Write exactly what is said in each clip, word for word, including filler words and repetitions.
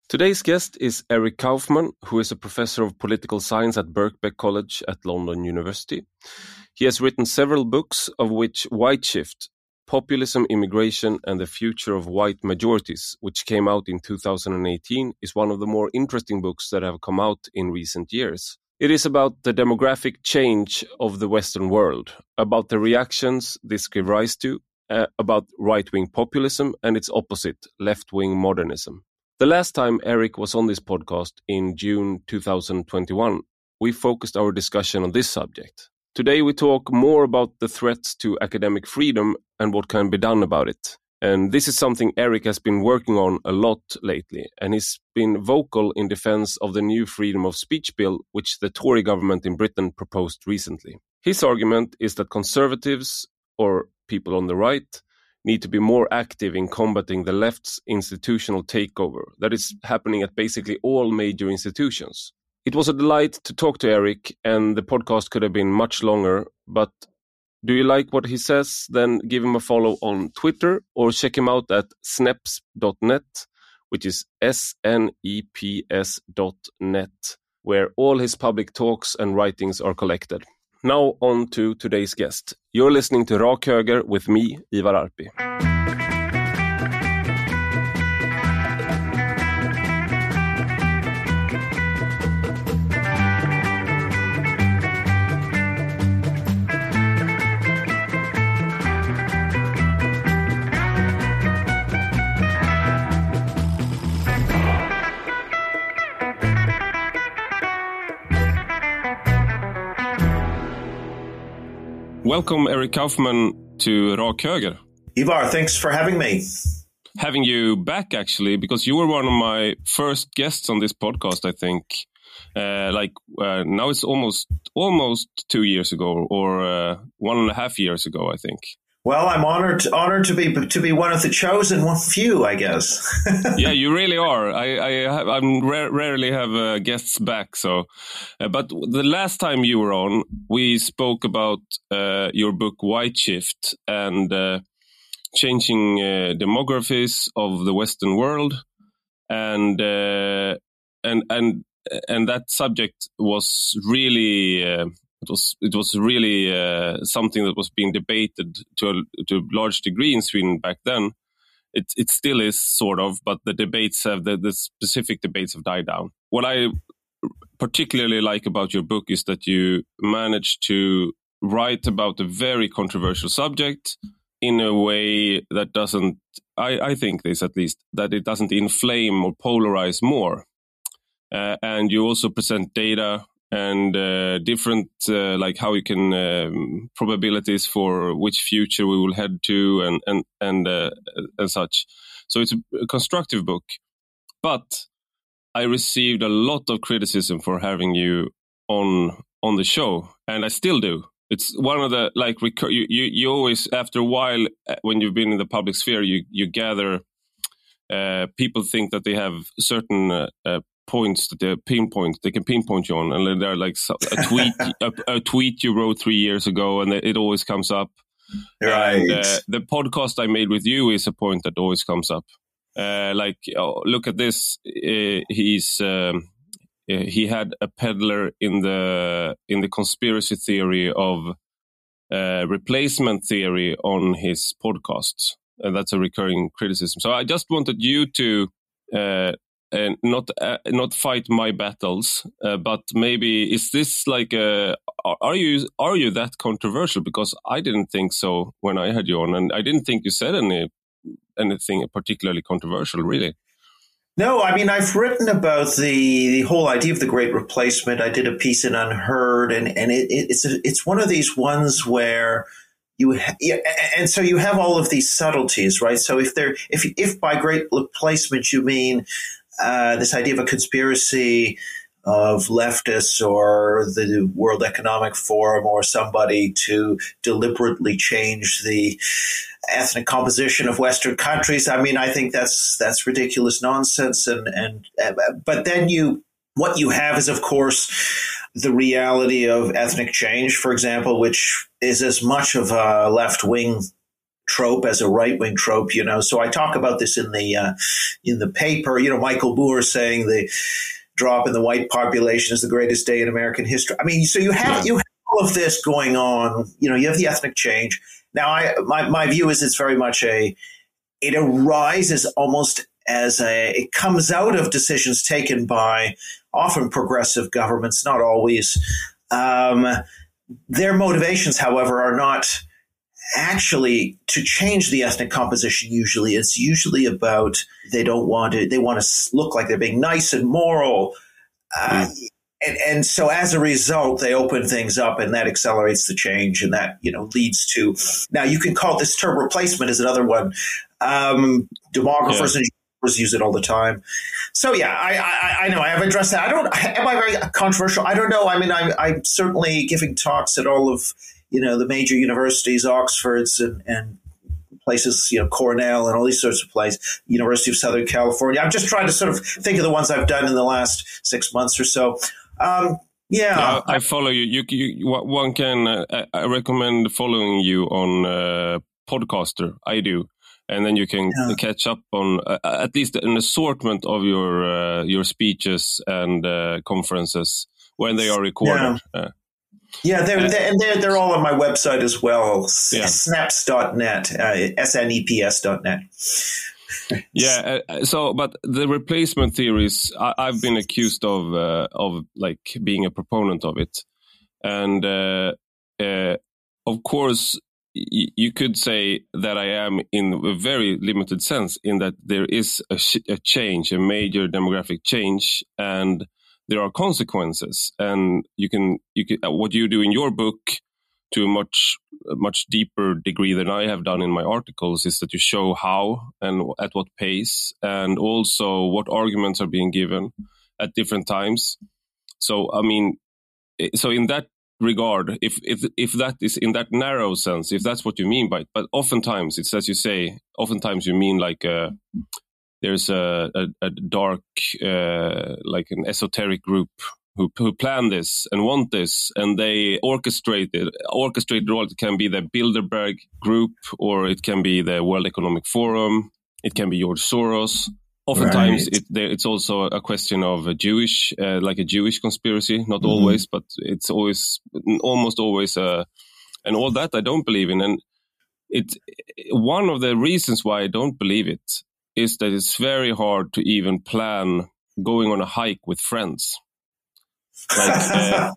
Today's guest is Eric Kaufmann, who is a professor of political science at Birkbeck College at London University. He has written several books, of which White Shift, Populism, Immigration and the Future of White Majorities, which came out in two thousand eighteen, is one of the more interesting books that have come out in recent years. It is about the demographic change of the Western world, about the reactions this gave rise to, uh, about right-wing populism and its opposite, left-wing modernism. The last time Eric was on this podcast in June two thousand twenty-one, we focused our discussion on this subject. Today we talk more about the threats to academic freedom and what can be done about it. And this is something Eric has been working on a lot lately, and he's been vocal in defense of the new freedom of speech bill, which the Tory government in Britain proposed recently. His argument is that conservatives, or people on the right, need to be more active in combating the left's institutional takeover that is happening at basically all major institutions. It was a delight to talk to Eric, and the podcast could have been much longer, but do you like what he says? Then give him a follow on Twitter or check him out at sneps dot net, which is S N E P S dot net, where all his public talks and writings are collected. Now on to today's guest. You're listening to Rak Höger with me, Ivar Arpi. Welcome, Eric Kaufmann, to Rak Höger. Ivar, thanks for having me. Having you back, actually, because you were one of my first guests on this podcast, I think. Uh, like uh, now it's almost almost two years ago, or uh, one and a half years ago, I think. Well, I'm honored honored to be to be one of the chosen one few, I guess. Yeah, you really are. I I have, I'm ra- rarely have uh, guests back. So, uh, but the last time you were on, we spoke about uh, your book White Shift and uh, changing uh, demographies of the Western world, and uh, and and and that subject was really. Uh, It was it was really uh, something that was being debated to a, to a large degree in Sweden back then. It it still is sort of, but the debates have the, the specific debates have died down. What I particularly like about your book is that you managed to write about a very controversial subject in a way that doesn't, I, I think this at least, that it doesn't inflame or polarize more. Uh, and you also present data and uh, different, uh, like how you can, um, probabilities for which future we will head to and, and, and, uh, and such. So it's a constructive book, but I received a lot of criticism for having you on, on the show, and I still do. It's one of the, like, recur- you, you, you always, after a while, when you've been in the public sphere, you, you gather, uh, people think that they have certain, uh, uh points that they pinpoint, they can pinpoint you on, and they're like a tweet, a, a tweet you wrote three years ago, and it always comes up. Right. And, uh, the podcast I made with you is a point that always comes up. Uh, like, oh, look at this. Uh, he's um, uh, he had a peddler in the in the conspiracy theory of uh, replacement theory on his podcast, and that's a recurring criticism. So I just wanted you to. Uh, And not uh, not fight my battles, uh, but maybe is this like a, are you are you that controversial? Because I didn't think so when I had you on, and I didn't think you said any anything particularly controversial, really. No, I mean, I've written about the, the whole idea of the Great Replacement. I did a piece in Unheard, and and it, it's a, it's one of these ones where you ha- yeah, and so you have all of these subtleties, right? So if there if if by Great Replacement you mean Uh, this idea of a conspiracy of leftists or the World Economic Forum or somebody to deliberately change the ethnic composition of Western countries. I mean, I think that's that's ridiculous nonsense. And and uh, but then you what you have is, of course, the reality of ethnic change, for example, which is as much of a left-wing trope as a right-wing trope, you know. So I talk about this in the uh, in the paper. You know, Michael Moore saying the drop in the white population is the greatest day in American history. I mean, so you have yeah. you have all of this going on. You know, you have the ethnic change. Now, I my my view is it's very much a it arises almost as a it comes out of decisions taken by often progressive governments, not always. Um, their motivations, however, are not actually to change the ethnic composition. Usually it's usually about they don't want to they want to look like they're being nice and moral, uh, mm. and, and so as a result they open things up, and that accelerates the change, and that, you know, leads to, now you can call this term replacement is another one. Um, demographers yeah. and use it all the time. So yeah, I, I I know I have addressed that. I don't am I very controversial? I don't know. I mean, I'm I'm certainly giving talks at all of, you know, the major universities, Oxford's and, and places, you know, Cornell and all these sorts of places, University of Southern California. I'm just trying to sort of think of the ones I've done in the last six months or so. Um, yeah. yeah. I follow you. You, you one can, uh, I recommend following you on uh, Podcaster. I do. And then you can yeah. catch up on uh, at least an assortment of your uh, your speeches and uh, conferences when they are recorded. Yeah. Uh, Yeah, they're, they're, and they're, they're all on my website as well, yeah. snaps dot net, uh, S N E P S dot net. Yeah, uh, so, but the replacement theories, I, I've been accused of, uh, of like being a proponent of it. And uh, uh, of course, y- you could say that I am in a very limited sense, in that there is a, sh- a change, a major demographic change, and there are consequences, and you can you can what you do in your book to a much a much deeper degree than I have done in my articles is that you show how and at what pace, and also what arguments are being given at different times. So I mean, so in that regard, if if if that is in that narrow sense, if that's what you mean by it, but oftentimes it's as you say, oftentimes you mean like a. There's a, a, a dark, uh, like an esoteric group who, who plan this and want this, and they orchestrate it. Orchestrated role, it can be the Bilderberg group, or it can be the World Economic Forum. It can be George Soros. Oftentimes, right. it, there, it's also a question of a Jewish, uh, like a Jewish conspiracy. Not mm-hmm. always, but it's always, almost always, uh, and all that I don't believe in. And it, one of the reasons why I don't believe it is that it's very hard to even plan going on a hike with friends. Like, uh,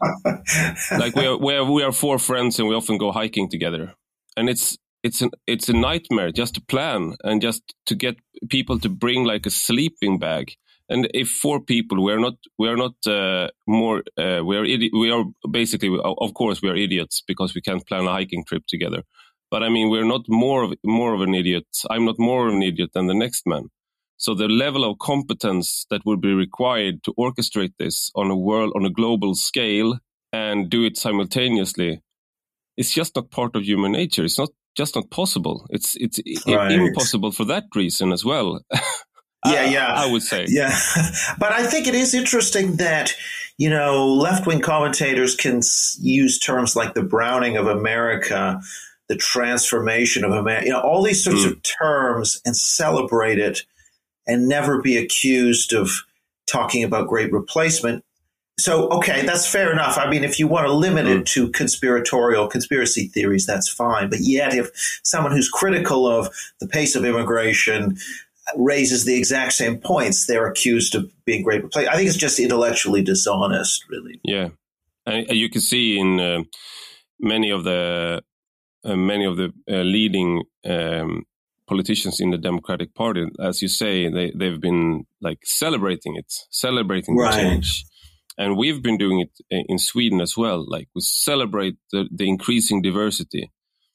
like we are, we are, we are four friends and we often go hiking together. And it's, it's an, it's a nightmare just to plan and just to get people to bring like a sleeping bag. And if four people, we are not, we are not, uh, more, uh, we are, idi- we are basically, of course we are idiots because we can't plan a hiking trip together. But I mean, we're not more of more of an idiot. I'm not more of an idiot than the next man. So the level of competence that would be required to orchestrate this on a world, on a global scale, and do it simultaneously, is just not part of human nature. It's not just not possible. It's it's right. impossible for that reason as well. Yeah, yeah, I, I would say. Yeah, but I think it is interesting that, you know, left-wing commentators can use terms like the Browning of America, the transformation of America, you know, all these sorts mm. of terms, and celebrate it and never be accused of talking about great replacement. So, okay, that's fair enough. I mean, if you want to limit mm. it to conspiratorial conspiracy theories, that's fine. But yet, if someone who's critical of the pace of immigration raises the exact same points, they're accused of being great replacement. I think it's just intellectually dishonest, really. Yeah. And you can see in uh, many of the Uh, many of the uh, leading um, politicians in the Democratic Party, as you say, they, they've been like celebrating it, celebrating right. the change. And we've been doing it in Sweden as well. Like we celebrate the, the increasing diversity,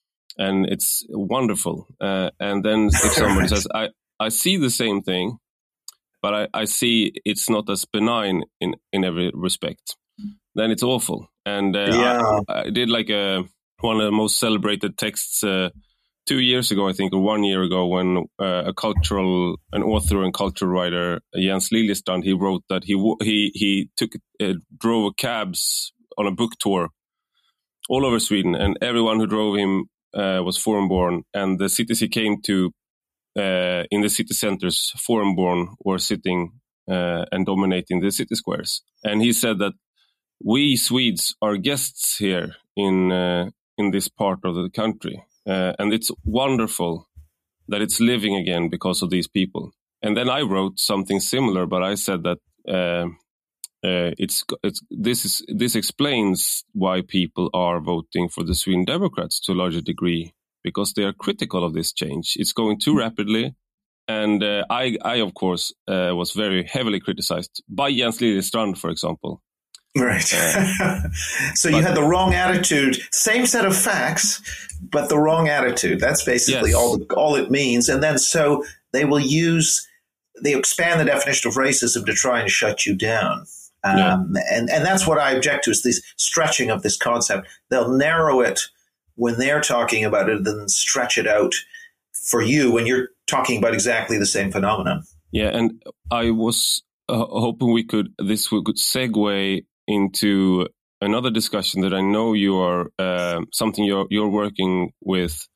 and it's wonderful. Uh, and then if someone says, I, I see the same thing, but I, I see it's not as benign in, in every respect, then it's awful. And uh, yeah. I, I did like a... one of the most celebrated texts uh, two years ago, I think, or one year ago, when uh, a cultural, an author and cultural writer, Jens Liljestrand, he wrote that he he he took uh, drove cabs on a book tour all over Sweden, and everyone who drove him uh, was foreign-born, and the cities he came to, uh, in the city centers, foreign-born were sitting uh, and dominating the city squares. And he said that we Swedes are guests here in uh, in this part of the country, uh, and it's wonderful that it's living again because of these people. And then I wrote something similar, but I said that uh, uh, it's it's this is this explains why people are voting for the Sweden Democrats to a larger degree, because they are critical of this change. It's going too rapidly, and uh, I I of course uh, was very heavily criticized by Jens Liljestrand, for example. Right. Uh, so you had the wrong attitude, same set of facts, but the wrong attitude. That's basically yes. all all it means. And then so they will use, they expand the definition of racism to try and shut you down. Um, yeah. and, and that's what I object to, is this stretching of this concept. They'll narrow it when they're talking about it, then stretch it out for you when you're talking about exactly the same phenomenon. Yeah, and I was uh, hoping we could, this we could segue into another discussion that I know you are uh, something you're you're working with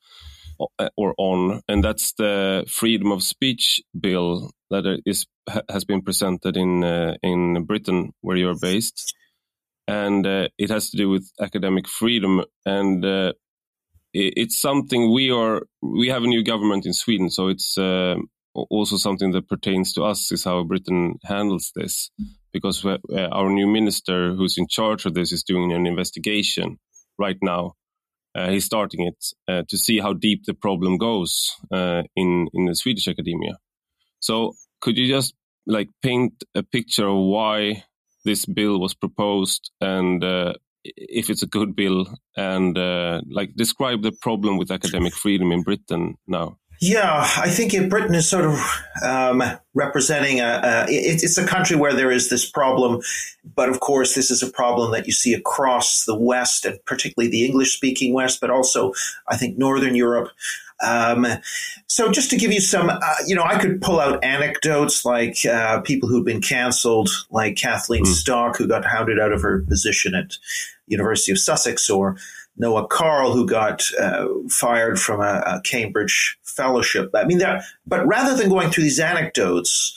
or on, and that's the freedom of speech bill that is has been presented in uh, in Britain, where you're based, and uh, it has to do with academic freedom, and uh, it, it's something we are we have a new government in Sweden, so it's uh, also something that pertains to us, is how Britain handles this. Because uh, our new minister who's in charge of this is doing an investigation right now. Uh, he's starting it uh, to see how deep the problem goes uh, in, in the Swedish academia. So could you just like paint a picture of why this bill was proposed, and uh, if it's a good bill, and uh, like describe the problem with academic freedom in Britain now? Yeah, I think if Britain is sort of um, representing a, a it, it's a country where there is this problem, but of course this is a problem that you see across the West, and particularly the English-speaking West, but also I think Northern Europe. Um, so just to give you some, uh, you know, I could pull out anecdotes like uh, people who've been canceled, like Kathleen mm. Stock, who got hounded out of her position at University of Sussex, or Noah Carl, who got uh, fired from a, a Cambridge fellowship. I mean, there, but rather than going through these anecdotes,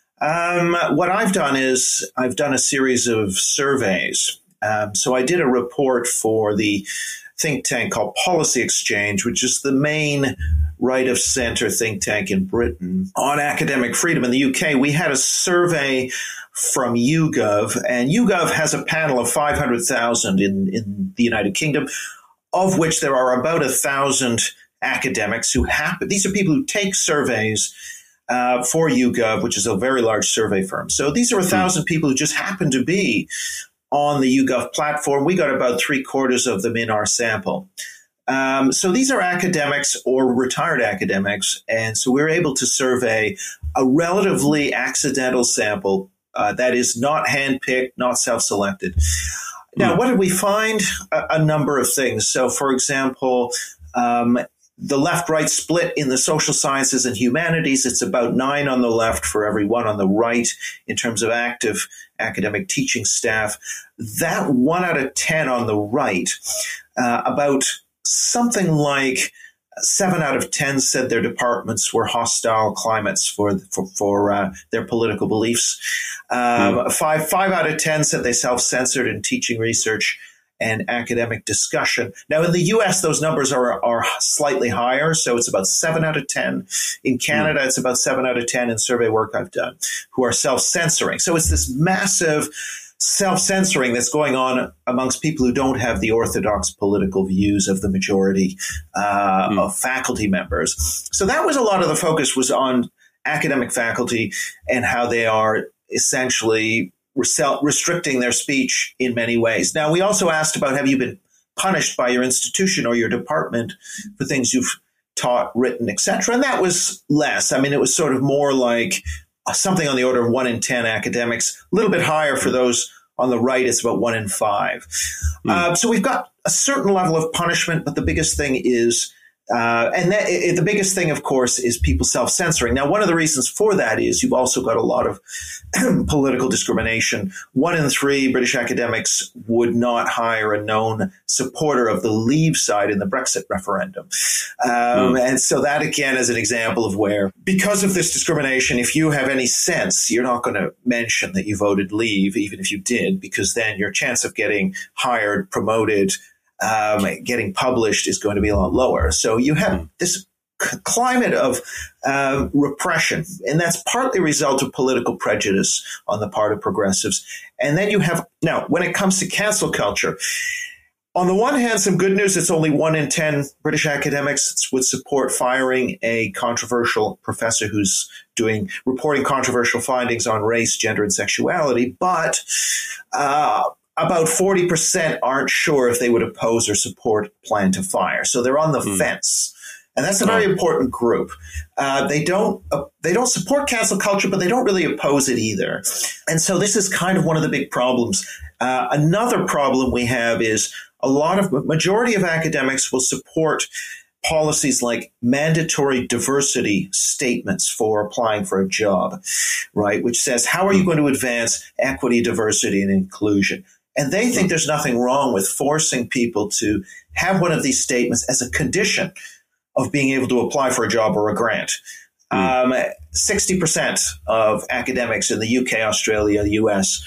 um, what I've done is I've done a series of surveys. Um, so I did a report for the think tank called Policy Exchange, which is the main right-of-center think tank in Britain on academic freedom. In the U K, we had a survey from YouGov, and YouGov has a panel of five hundred thousand in, in the United Kingdom, of which there are about a thousand academics who happen. These are people who take surveys uh, for YouGov, which is a very large survey firm. So these are a thousand people who just happen to be on the YouGov platform. We got about three quarters of them in our sample. Um, so these are academics or retired academics, and so we're able to survey a relatively accidental sample. Uh, that is not handpicked, not self-selected. Now, what did we find? A, a number of things. So, for example, um, the left-right split in the social sciences and humanities, it's about nine on the left for every one on the right in terms of active academic teaching staff. That one out of ten on the right, uh, about something like seven out of ten said their departments were hostile climates for for, for uh, their political beliefs. Um, mm. Five five out of ten said they self-censored in teaching, research, and academic discussion. Now, in the U S, those numbers are are slightly higher, so it's about seven out of ten. In Canada, mm. it's about seven out of ten in survey work I've done, who are self-censoring. So it's this massive self-censoring that's going on amongst people who don't have the orthodox political views of the majority uh, mm. of faculty members. So that was a lot of the focus was on academic faculty and how they are essentially restricting their speech in many ways. Now, we also asked about, have you been punished by your institution or your department for things you've taught, written, et cetera? And that was less. I mean, it was sort of more like something on the order of one in ten academics, a little bit higher for those on the right. It's about one in five. Mm. Uh, so we've got a certain level of punishment, but the biggest thing is Uh, and that, it, the biggest thing, of course, is people self-censoring. Now, one of the reasons for that is you've also got a lot of political discrimination. One in three British academics would not hire a known supporter of the Leave side in the Brexit referendum. Um, mm. And so that, again, is an example of where, because of this discrimination, if you have any sense, you're not going to mention that you voted Leave, even if you did, because then your chance of getting hired, promoted, Um, getting published is going to be a lot lower. So you have this c- climate of uh, repression, and that's partly a result of political prejudice on the part of progressives. And then you have, now, when it comes to cancel culture, on the one hand, some good news, it's only one in ten British academics would support firing a controversial professor who's doing, reporting controversial findings on race, gender, and sexuality. But uh, about forty percent aren't sure if they would oppose or support plan to fire. So they're on the mm. fence. And that's a very oh. important group. Uh, they don't uh, they don't support cancel culture, but they don't really oppose it either. And so this is kind of one of the big problems. Uh, another problem we have is a lot of majority of academics will support policies like mandatory diversity statements for applying for a job, right? Which says, how are you going to advance equity, diversity, and inclusion? And they think there's nothing wrong with forcing people to have one of these statements as a condition of being able to apply for a job or a grant. Mm. Um, sixty percent of academics in the U K, Australia, the U S,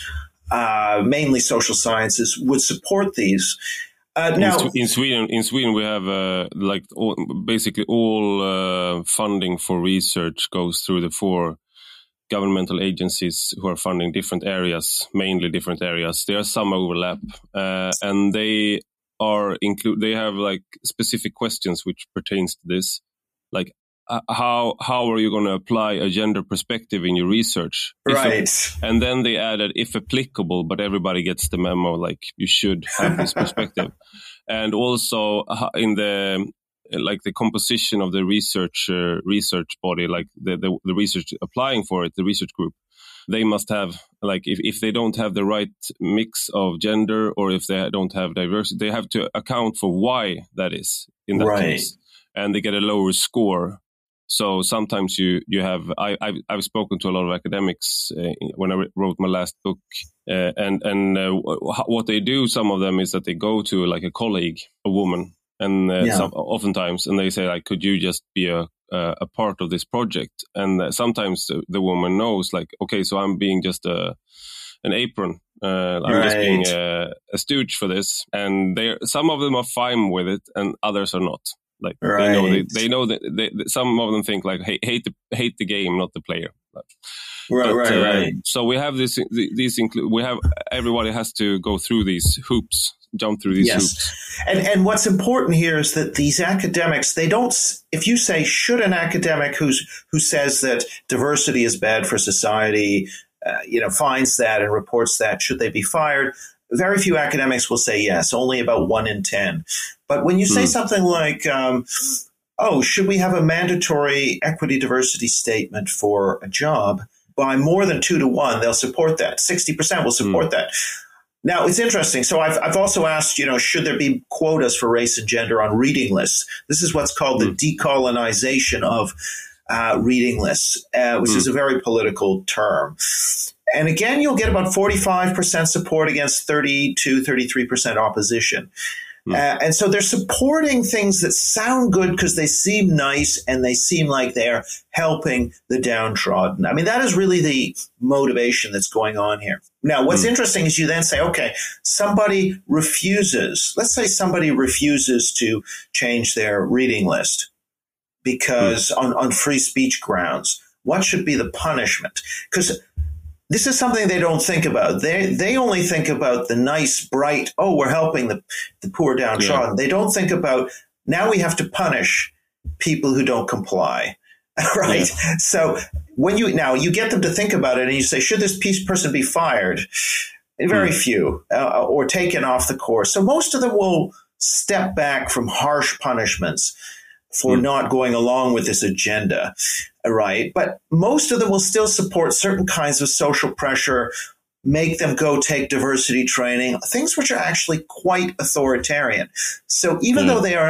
uh, mainly social sciences, would support these. Uh, now, in, in Sweden, in Sweden, we have uh, like all, basically all uh, funding for research goes through the four governmental agencies who are funding different areas, mainly different areas. There are some overlap, uh, and they are include. They have like specific questions which pertains to this, like uh, how how are you going to apply a gender perspective in your research? Right. If, and then they added if applicable, but everybody gets the memo. Like you should have this perspective, and also in the like the composition of the research uh, research body, like the, the the research applying for it, the research group, they must have like if, if they don't have the right mix of gender or if they don't have diversity, they have to account for why that is in that right. case, and they get a lower score. So sometimes you you have I I've, I've spoken to a lot of academics uh, when I wrote my last book, uh, and and uh, what they do, some of them is that they go to like a colleague, a woman. And uh, yeah. some, oftentimes, and they say, like, could you just be a uh, a part of this project? And uh, sometimes the, the woman knows, like, okay, so I'm being just a an apron. Uh, I'm right. just being a, a stooge for this. And they, some of them are fine with it, and others are not. Like right. they know, they, they know that they, some of them think like, hey, hate the hate the game, not the player. But, right, but, right, uh, right. So we have this. These include. We have everybody has to go through these hoops. Jump through these yes. hoops. And and what's important here is that these academics, they don't, if you say, should an academic who's who says that diversity is bad for society, uh, you know, finds that and reports that, should they be fired? Very few academics will say yes, only about one in ten. But when you say mm. something like, um, oh, should we have a mandatory equity diversity statement for a job? By more than two to one, they'll support that. sixty percent will support mm. that. Now, it's interesting. So I've I've also asked, you know, should there be quotas for race and gender on reading lists? This is what's called mm. the decolonization of uh, reading lists, uh, which mm. is a very political term. And again, you'll get about forty-five percent support against thirty-two, thirty-three percent opposition. Mm. Uh, and so they're supporting things that sound good because they seem nice and they seem like they're helping the downtrodden. I mean, that is really the motivation that's going on here. Now, what's mm. interesting is you then say, okay, somebody refuses, let's say somebody refuses to change their reading list because mm. on, on free speech grounds. What should be the punishment? Because this is something they don't think about. They they only think about the nice, bright, oh, we're helping the, the poor downtrodden. Yeah. They don't think about, now we have to punish people who don't comply, right? Yeah. So when you, now you get them to think about it and you say, should this person be fired? Very mm. few, uh, or taken off the course. So most of them will step back from harsh punishments for mm. not going along with this agenda, right? But most of them will still support certain kinds of social pressure, make them go take diversity training, things which are actually quite authoritarian. So even mm. though they are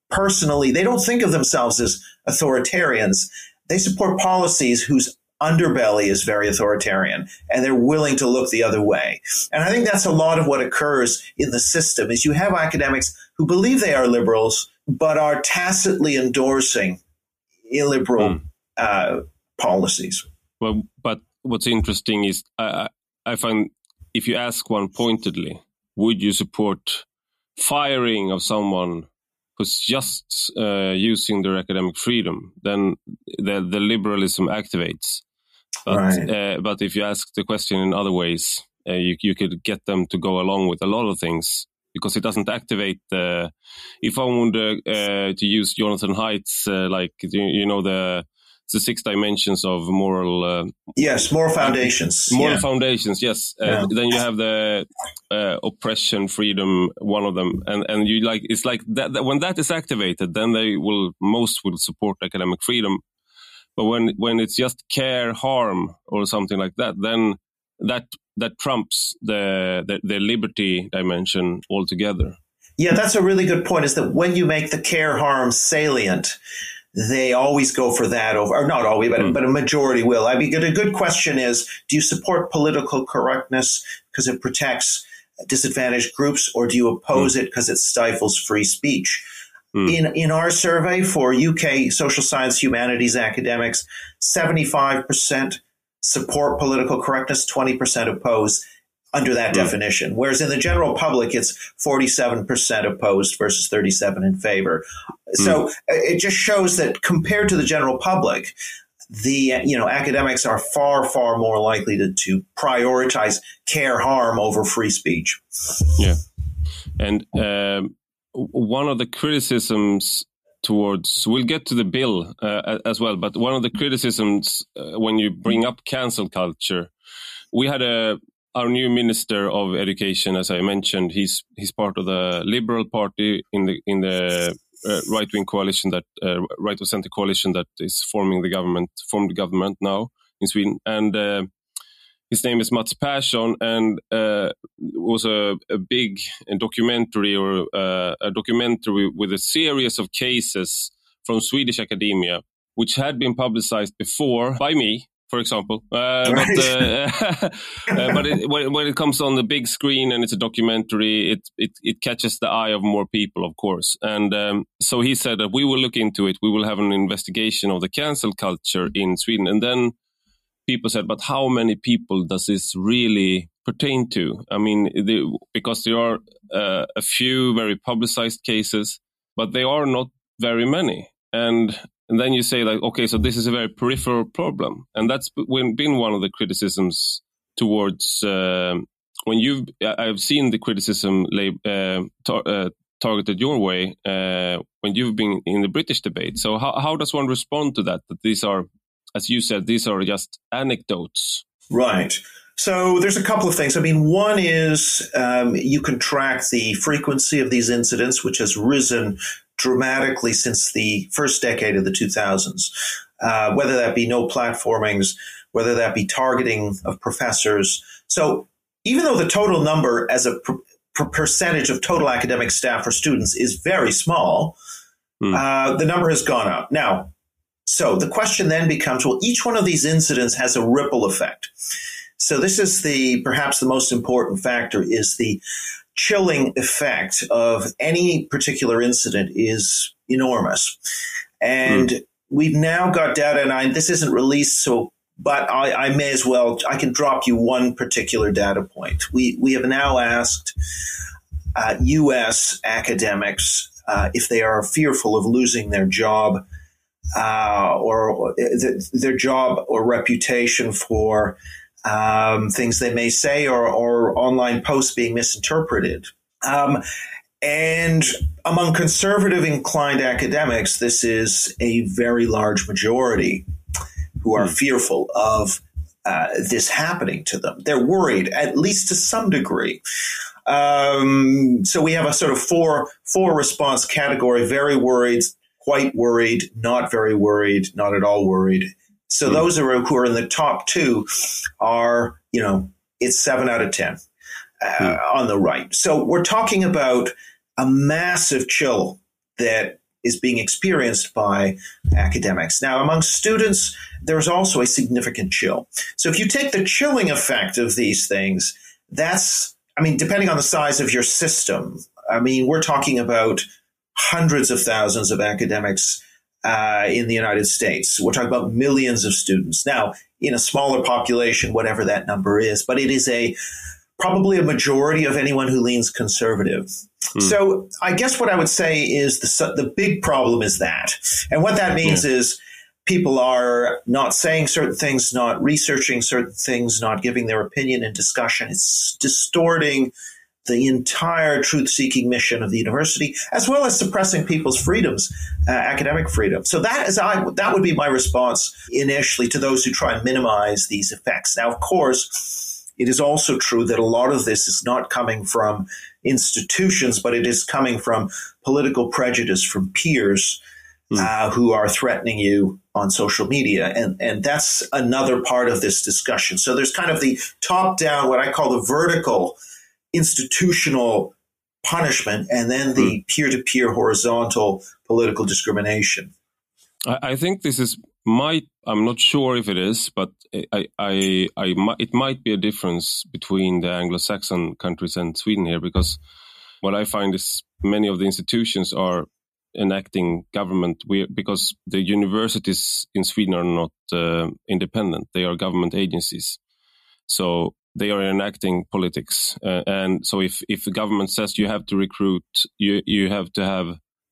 personally, they don't think of themselves as authoritarians. They support policies whose underbelly is very authoritarian, and they're willing to look the other way. And I think that's a lot of what occurs in the system is you have academics who believe they are liberals, but are tacitly endorsing illiberal mm. uh, policies. Well, but what's interesting is I, I find if you ask one pointedly, would you support firing of someone who's just uh, using their academic freedom, then the, the liberalism activates. But, right. uh, but if you ask the question in other ways, uh, you, you could get them to go along with a lot of things because it doesn't activate the... If I wanted uh, uh, to use Jonathan Haidt's, uh, like, you, you know, the the six dimensions of moral... Uh, yes, moral foundations. Moral yeah. foundations, yes. Uh, yeah. Then you have the uh, oppression, freedom, one of them. And and you like it's like that, that when that is activated, then they will, most will support academic freedom. But when, when it's just care, harm, or something like that, then that that trumps the, the, the liberty dimension altogether. Yeah, that's a really good point, is that when you make the care, harm salient, they always go for that over, or not always, but, mm. but a majority will. I mean, a good question is, do you support political correctness because it protects disadvantaged groups, or do you oppose mm. it because it stifles free speech? Mm. In in our survey for U K social science humanities academics, seventy-five percent support political correctness, twenty percent oppose under that mm. definition. Whereas in the general public, it's forty-seven percent opposed versus thirty-seven in favor. Mm. So it just shows that compared to the general public, the you know academics are far, far more likely to, to prioritize care, harm over free speech. Yeah. And um, one of the criticisms towards, we'll get to the bill uh, as well, but one of the criticisms uh, when you bring up cancel culture, we had a our new Minister of Education, as I mentioned, he's he's part of the Liberal Party in the in the uh, right-wing coalition, that uh, right of center coalition that is forming the government, formed the government now in Sweden, and uh, his name is Mats Persson, and uh, was a, a big documentary or uh, a documentary with a series of cases from Swedish academia, which had been publicized before by me, for example. Uh, right. But, uh, uh, but it, when, when it comes on the big screen and it's a documentary, it, it, it catches the eye of more people, of course. And um, so he said that we will look into it. We will have an investigation of the cancel culture in Sweden. And then people said, but how many people does this really pertain to? I mean, the, because there are uh, a few very publicized cases, but they are not very many. And And then you say, like, okay, so this is a very peripheral problem. And that's been one of the criticisms towards, uh, when you've, I've seen the criticism uh, tar- uh, targeted your way uh, when you've been in the British debate. So how, how does one respond to that? That these are, as you said, these are just anecdotes. Right. So there's a couple of things. I mean, one is um, you can track the frequency of these incidents, which has risen dramatically since the first decade of the two thousands, uh, whether that be no platformings, whether that be targeting of professors. So even though the total number as a per- per- percentage of total academic staff or students is very small, mm. uh, the number has gone up. Now, so the question then becomes, well, each one of these incidents has a ripple effect. So this is the perhaps the most important factor, is the chilling effect of any particular incident is enormous. And mm. we've now got data, and I, this isn't released, so but I, I may as well, I can drop you one particular data point. We we have now asked uh, U S academics uh, if they are fearful of losing their job uh, or, or th- their job or reputation for Um, things they may say or, or online posts being misinterpreted. Um, and among conservative inclined academics, this is a very large majority who are mm. fearful of uh, this happening to them. They're worried, at least to some degree. Um, so we have a sort of four, four response category: very worried, quite worried, not very worried, not at all worried. So those are, who are in the top two are, you know, it's seven out of ten uh, mm. on the right. So we're talking about a massive chill that is being experienced by academics. Now, among students, there's also a significant chill. So if you take the chilling effect of these things, that's, I mean, depending on the size of your system, I mean, we're talking about hundreds of thousands of academics uh, in the United States. We're talking about millions of students. Now, in a smaller population, whatever that number is, but it is a probably a majority of anyone who leans conservative. Hmm. So I guess what I would say is the the big problem is that. And what that means yeah. is people are not saying certain things, not researching certain things, not giving their opinion in discussion. It's distorting the entire truth-seeking mission of the university, as well as suppressing people's freedoms, uh, academic freedom. So that is I, that would be my response initially to those who try and minimize these effects. Now, of course, it is also true that a lot of this is not coming from institutions, but it is coming from political prejudice from peers mm. uh, who are threatening you on social media. And, and that's another part of this discussion. So there's kind of the top-down, what I call the vertical institutional punishment, and then the mm. peer-to-peer horizontal political discrimination. I, I think this is might. I'm not sure if it is, but I, I, I, it might be a difference between the Anglo-Saxon countries and Sweden here, because what I find is many of the institutions are enacting government we, because the universities in Sweden are not uh, independent; they are government agencies. So they are enacting politics. Uh, and so if, if the government says you have to recruit, you, you have to have,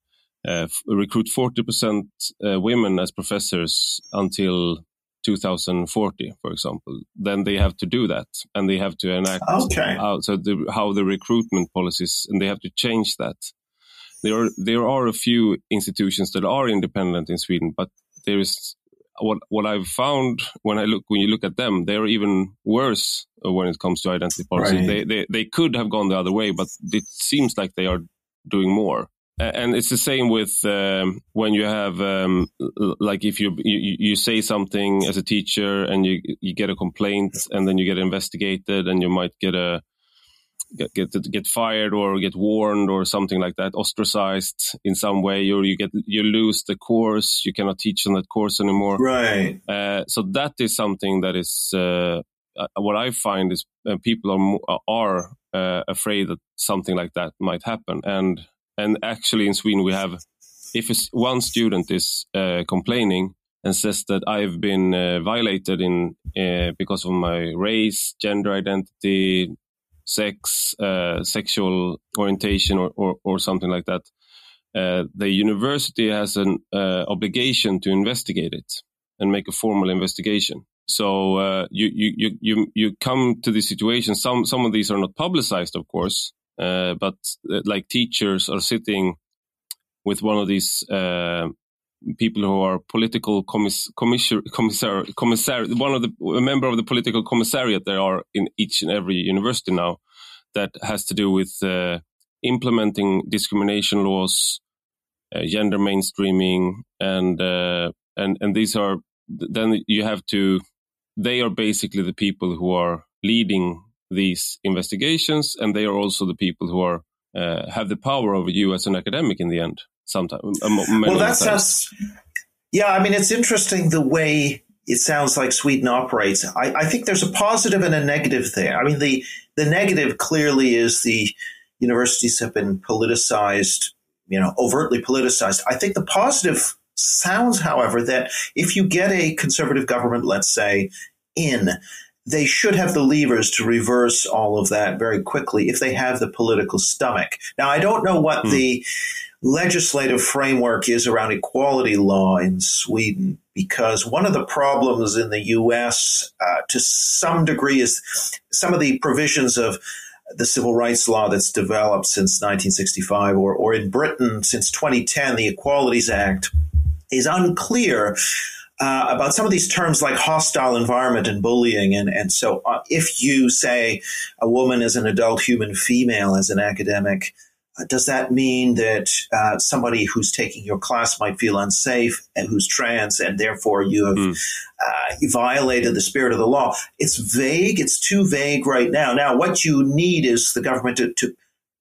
uh, recruit forty percent uh, women as professors until two thousand forty, for example, then they have to do that. And they have to enact okay. how, so the, how the recruitment policies, and they have to change that. There are, there are a few institutions that are independent in Sweden, but there is, What what I've found when I look when you look at them, they're even worse when it comes to identity policy. Right. They, they they could have gone the other way, but it seems like they are doing more. And it's the same with um, when you have um, like if you, you you say something as a teacher and you you get a complaint and then you get investigated and you might get a Get, get get fired or get warned or something like that, ostracized in some way, or you get you lose the course, you cannot teach on that course anymore. Right. Uh, so that is something that is uh, what I find is uh, people are are uh, afraid that something like that might happen. And and actually in Sweden we have, if one student is uh, complaining and says that I've been uh, violated in uh, because of my race, gender identity, sex, uh, sexual orientation or, or, or something like that, uh, the university has an uh, obligation to investigate it and make a formal investigation. So uh, you, you, you, you come to this situation. Some, some of these are not publicized, of course, uh, but uh, like teachers are sitting with one of these uh, people who are political commiss- commissar, commissar, commissar, one of the a member of the political commissariat there are in each and every university now, that has to do with uh, implementing discrimination laws, uh, gender mainstreaming, and uh, and and these are then you have to. They are basically the people who are leading these investigations, and they are also the people who are uh, have the power over you as an academic in the end. Sometimes, well, that sounds. Yeah, I mean, it's interesting the way it sounds like Sweden operates. I, I think there's a positive and a negative there. I mean, the the negative clearly is the universities have been politicized, you know, overtly politicized. I think the positive sounds, however, that if you get a conservative government, let's say, in, they should have the levers to reverse all of that very quickly if they have the political stomach. Now, I don't know what hmm. the legislative framework is around equality law in Sweden, because one of the problems in the U S uh, to some degree is some of the provisions of the civil rights law that's developed since nineteen sixty-five, or, or in Britain since twenty ten, the Equalities Act is unclear uh, about some of these terms like hostile environment and bullying. And, and so uh, if you say a woman is an adult human female as an academic, Uh, does that mean that uh, somebody who's taking your class might feel unsafe and who's trans, and therefore you have mm. uh, violated the spirit of the law? It's vague. It's too vague right now. Now, what you need is the government to, to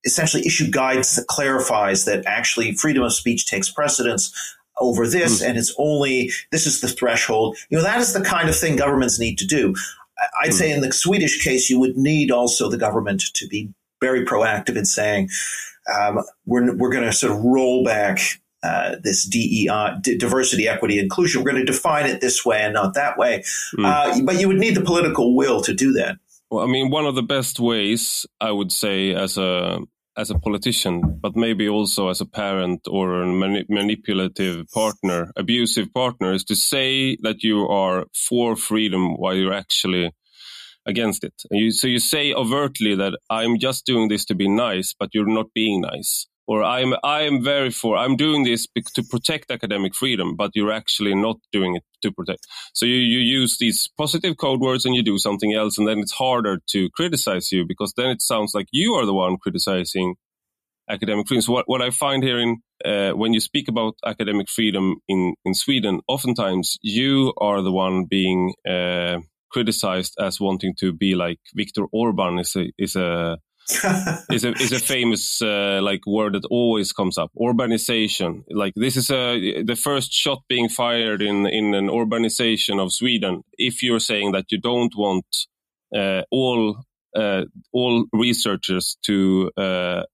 essentially issue guidance that clarifies that actually freedom of speech takes precedence over this, mm. and it's only, this is the threshold. You know, that is the kind of thing governments need to do. I'd mm. say in the Swedish case, you would need also the government to be very proactive in saying, um, we're, we're going to sort of roll back uh, this D E I, diversity, equity, inclusion. We're going to define it this way and not that way. Mm. Uh, but you would need the political will to do that. Well, I mean, one of the best ways, I would say, as a as a politician, but maybe also as a parent or a mani- manipulative partner, abusive partner, is to say that you are for freedom while you're actually against it. And you, so you say overtly that I'm just doing this to be nice, but you're not being nice. Or I'm I'm very for, I'm doing this to protect academic freedom, but you're actually not doing it to protect. So you, you use these positive code words and you do something else, and then it's harder to criticize you because then it sounds like you are the one criticizing academic freedom. So what, what I find here in uh, when you speak about academic freedom in, in Sweden, oftentimes you are the one being uh, criticized as wanting to be like Viktor Orban is a is a is a is a famous uh, like word that always comes up. Urbanization, like this is a the first shot being fired in in an urbanization of Sweden. If you're saying that you don't want uh, all uh, all researchers to uh,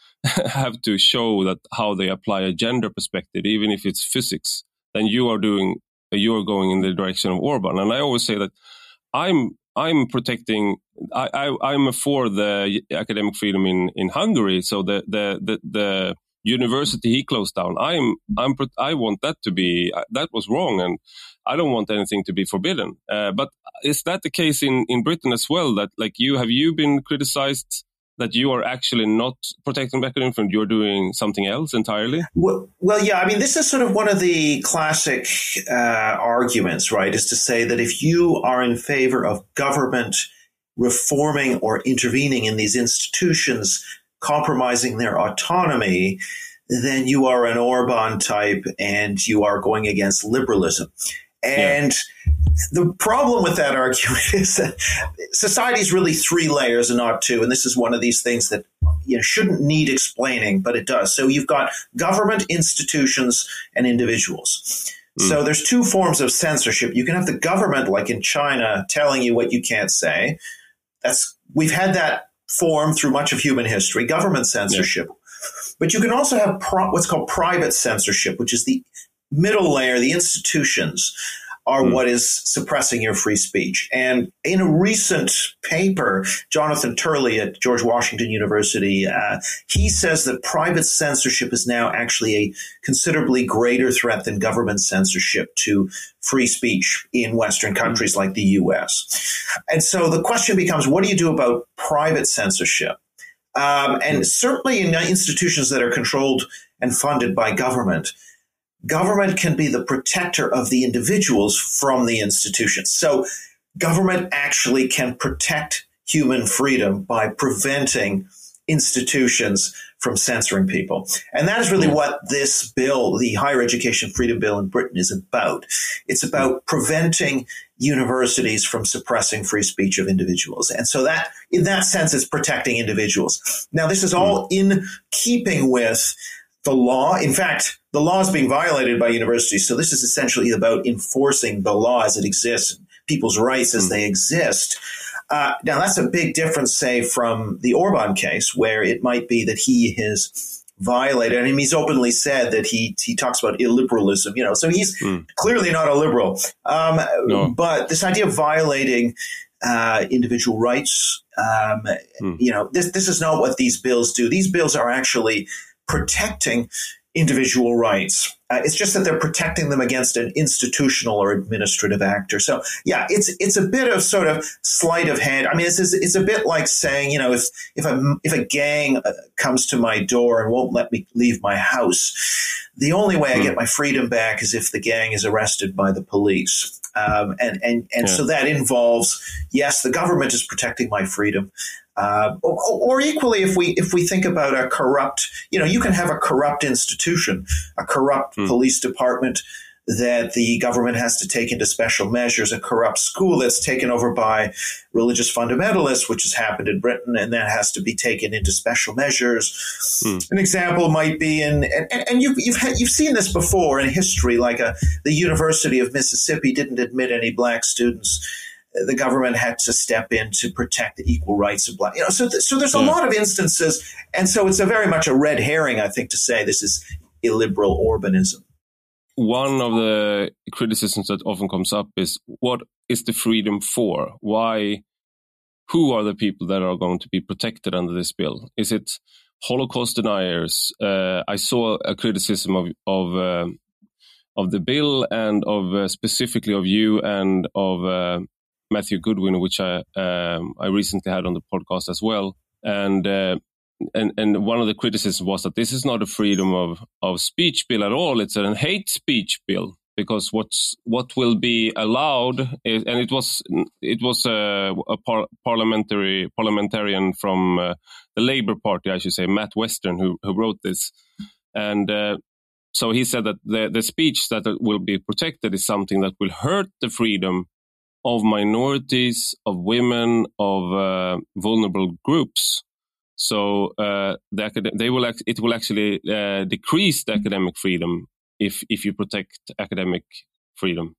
have to show that how they apply a gender perspective, even if it's physics, then you are doing you are going in the direction of Orban. And I always say that I'm. I'm protecting. I, I I'm for the academic freedom in, in Hungary. So the, the the the university he closed down. I'm I'm I want that to be that was wrong, and I don't want anything to be forbidden. Uh, but is that the case in, in Britain as well? That like you have you been criticized that you are actually not protecting academic freedom, you're doing something else entirely? Well, well, yeah, I mean, this is sort of one of the classic uh, arguments, right, is to say that if you are in favor of government reforming or intervening in these institutions, compromising their autonomy, then you are an Orban type and you are going against liberalism. And yeah. The problem with that argument is that society is really three layers and not two. And this is one of these things that you know shouldn't need explaining, but it does. So you've got government, institutions, and individuals. Mm. So there's two forms of censorship. You can have the government, like in China, telling you what you can't say. That's we've had that form through much of human history, government censorship. Yeah. But you can also have pro- what's called private censorship, which is the middle layer. The institutions are mm. what is suppressing your free speech. And in a recent paper, Jonathan Turley at George Washington University, uh, he says that private censorship is now actually a considerably greater threat than government censorship to free speech in Western countries mm. like the U S. And so the question becomes, what do you do about private censorship? Um, and mm. certainly in institutions that are controlled and funded by government, government can be the protector of the individuals from the institutions. So government actually can protect human freedom by preventing institutions from censoring people. And that is really what this bill, the Higher Education Freedom Bill in Britain, is about. It's about preventing universities from suppressing free speech of individuals. And so that, in that sense, it's protecting individuals. Now, this is all in keeping with the law. In fact, the law is being violated by universities. So this is essentially about enforcing the law as it exists, people's rights as mm. they exist. Uh, now, that's a big difference, say, from the Orban case, where it might be that he has violated. I mean, he's openly said that he he talks about illiberalism, you know, so he's mm. clearly not a liberal. Um, no. But this idea of violating uh, individual rights, um, mm. you know, this this is not what these bills do. These bills are actually protecting individual rights. Uh, it's just that they're protecting them against an institutional or administrative actor. So, yeah, it's it's a bit of sort of sleight of hand. I mean, it's it's a bit like saying, you know, if if a if a gang comes to my door and won't let me leave my house, the only way I get my freedom back is if the gang is arrested by the police. Um, and and and yeah. so that involves, yes, the government is protecting my freedom. Uh, or, or equally, if we if we think about a corrupt, you know, you can have a corrupt institution, a corrupt mm. police department that the government has to take into special measures a corrupt school that's taken over by religious fundamentalists, which has happened in Britain, and that has to be taken into special measures. Mm. An example might be in, and, and you've you've, had, you've seen this before in history, like a, the University of Mississippi didn't admit any black students. The government had to step in to protect the equal rights of black. You know, so th- so there's a yeah. lot of instances, and so it's a very much a red herring, I think, to say this is illiberal Orbanism. One of the criticisms that often comes up is, what is the freedom for? Why? Who are the people that are going to be protected under this bill? Is it Holocaust deniers? Uh, I saw a criticism of of, uh, of the bill and of uh, specifically of you and of uh, Matthew Goodwin, which I um, I recently had on the podcast as well. And uh, And and one of the criticisms was that this is not a freedom of, of speech bill at all. It's a hate speech bill, because what's what will be allowed is, and it was it was a, a par- parliamentary parliamentarian from uh, the Labour Party, I should say, Matt Western, who who wrote this, and uh, so he said that the the speech that will be protected is something that will hurt the freedom of minorities, of women, of uh, vulnerable groups. So uh, the acad- they will ac- it will actually uh, decrease the academic freedom if if you protect academic freedom.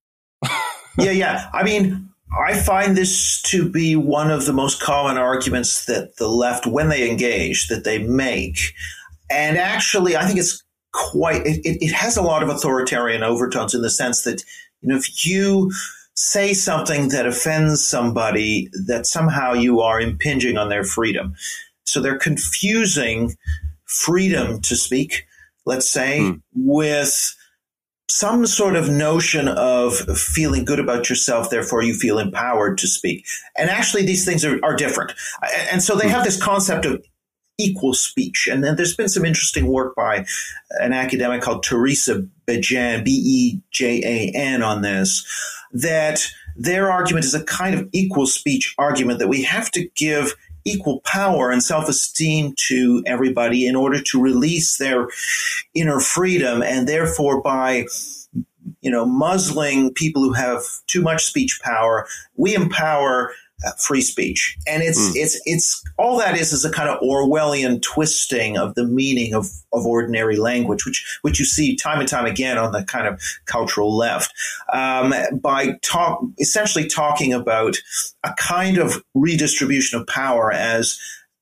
yeah, yeah. I mean, I find this to be one of the most common arguments that the left, when they engage, that they make. And actually, I think it's quite it, it, it has a lot of authoritarian overtones, in the sense that, you know, if you say something that offends somebody, that somehow you are impinging on their freedom. So they're confusing freedom to speak, let's say, mm. with some sort of notion of feeling good about yourself, therefore you feel empowered to speak. And actually these things are, are different. And so they have this concept of equal speech. And then there's been some interesting work by an academic called Teresa Bejan, B E J A N, on this, that their argument is a kind of equal speech argument, that we have to give equal power and self-esteem to everybody in order to release their inner freedom, and therefore by, you know, muzzling people who have too much speech power, we empower uh, free speech. And it's mm. it's it's all that is is a kind of Orwellian twisting of the meaning of of ordinary language, which which you see time and time again on the kind of cultural left, um, by talk essentially talking about a kind of redistribution of power as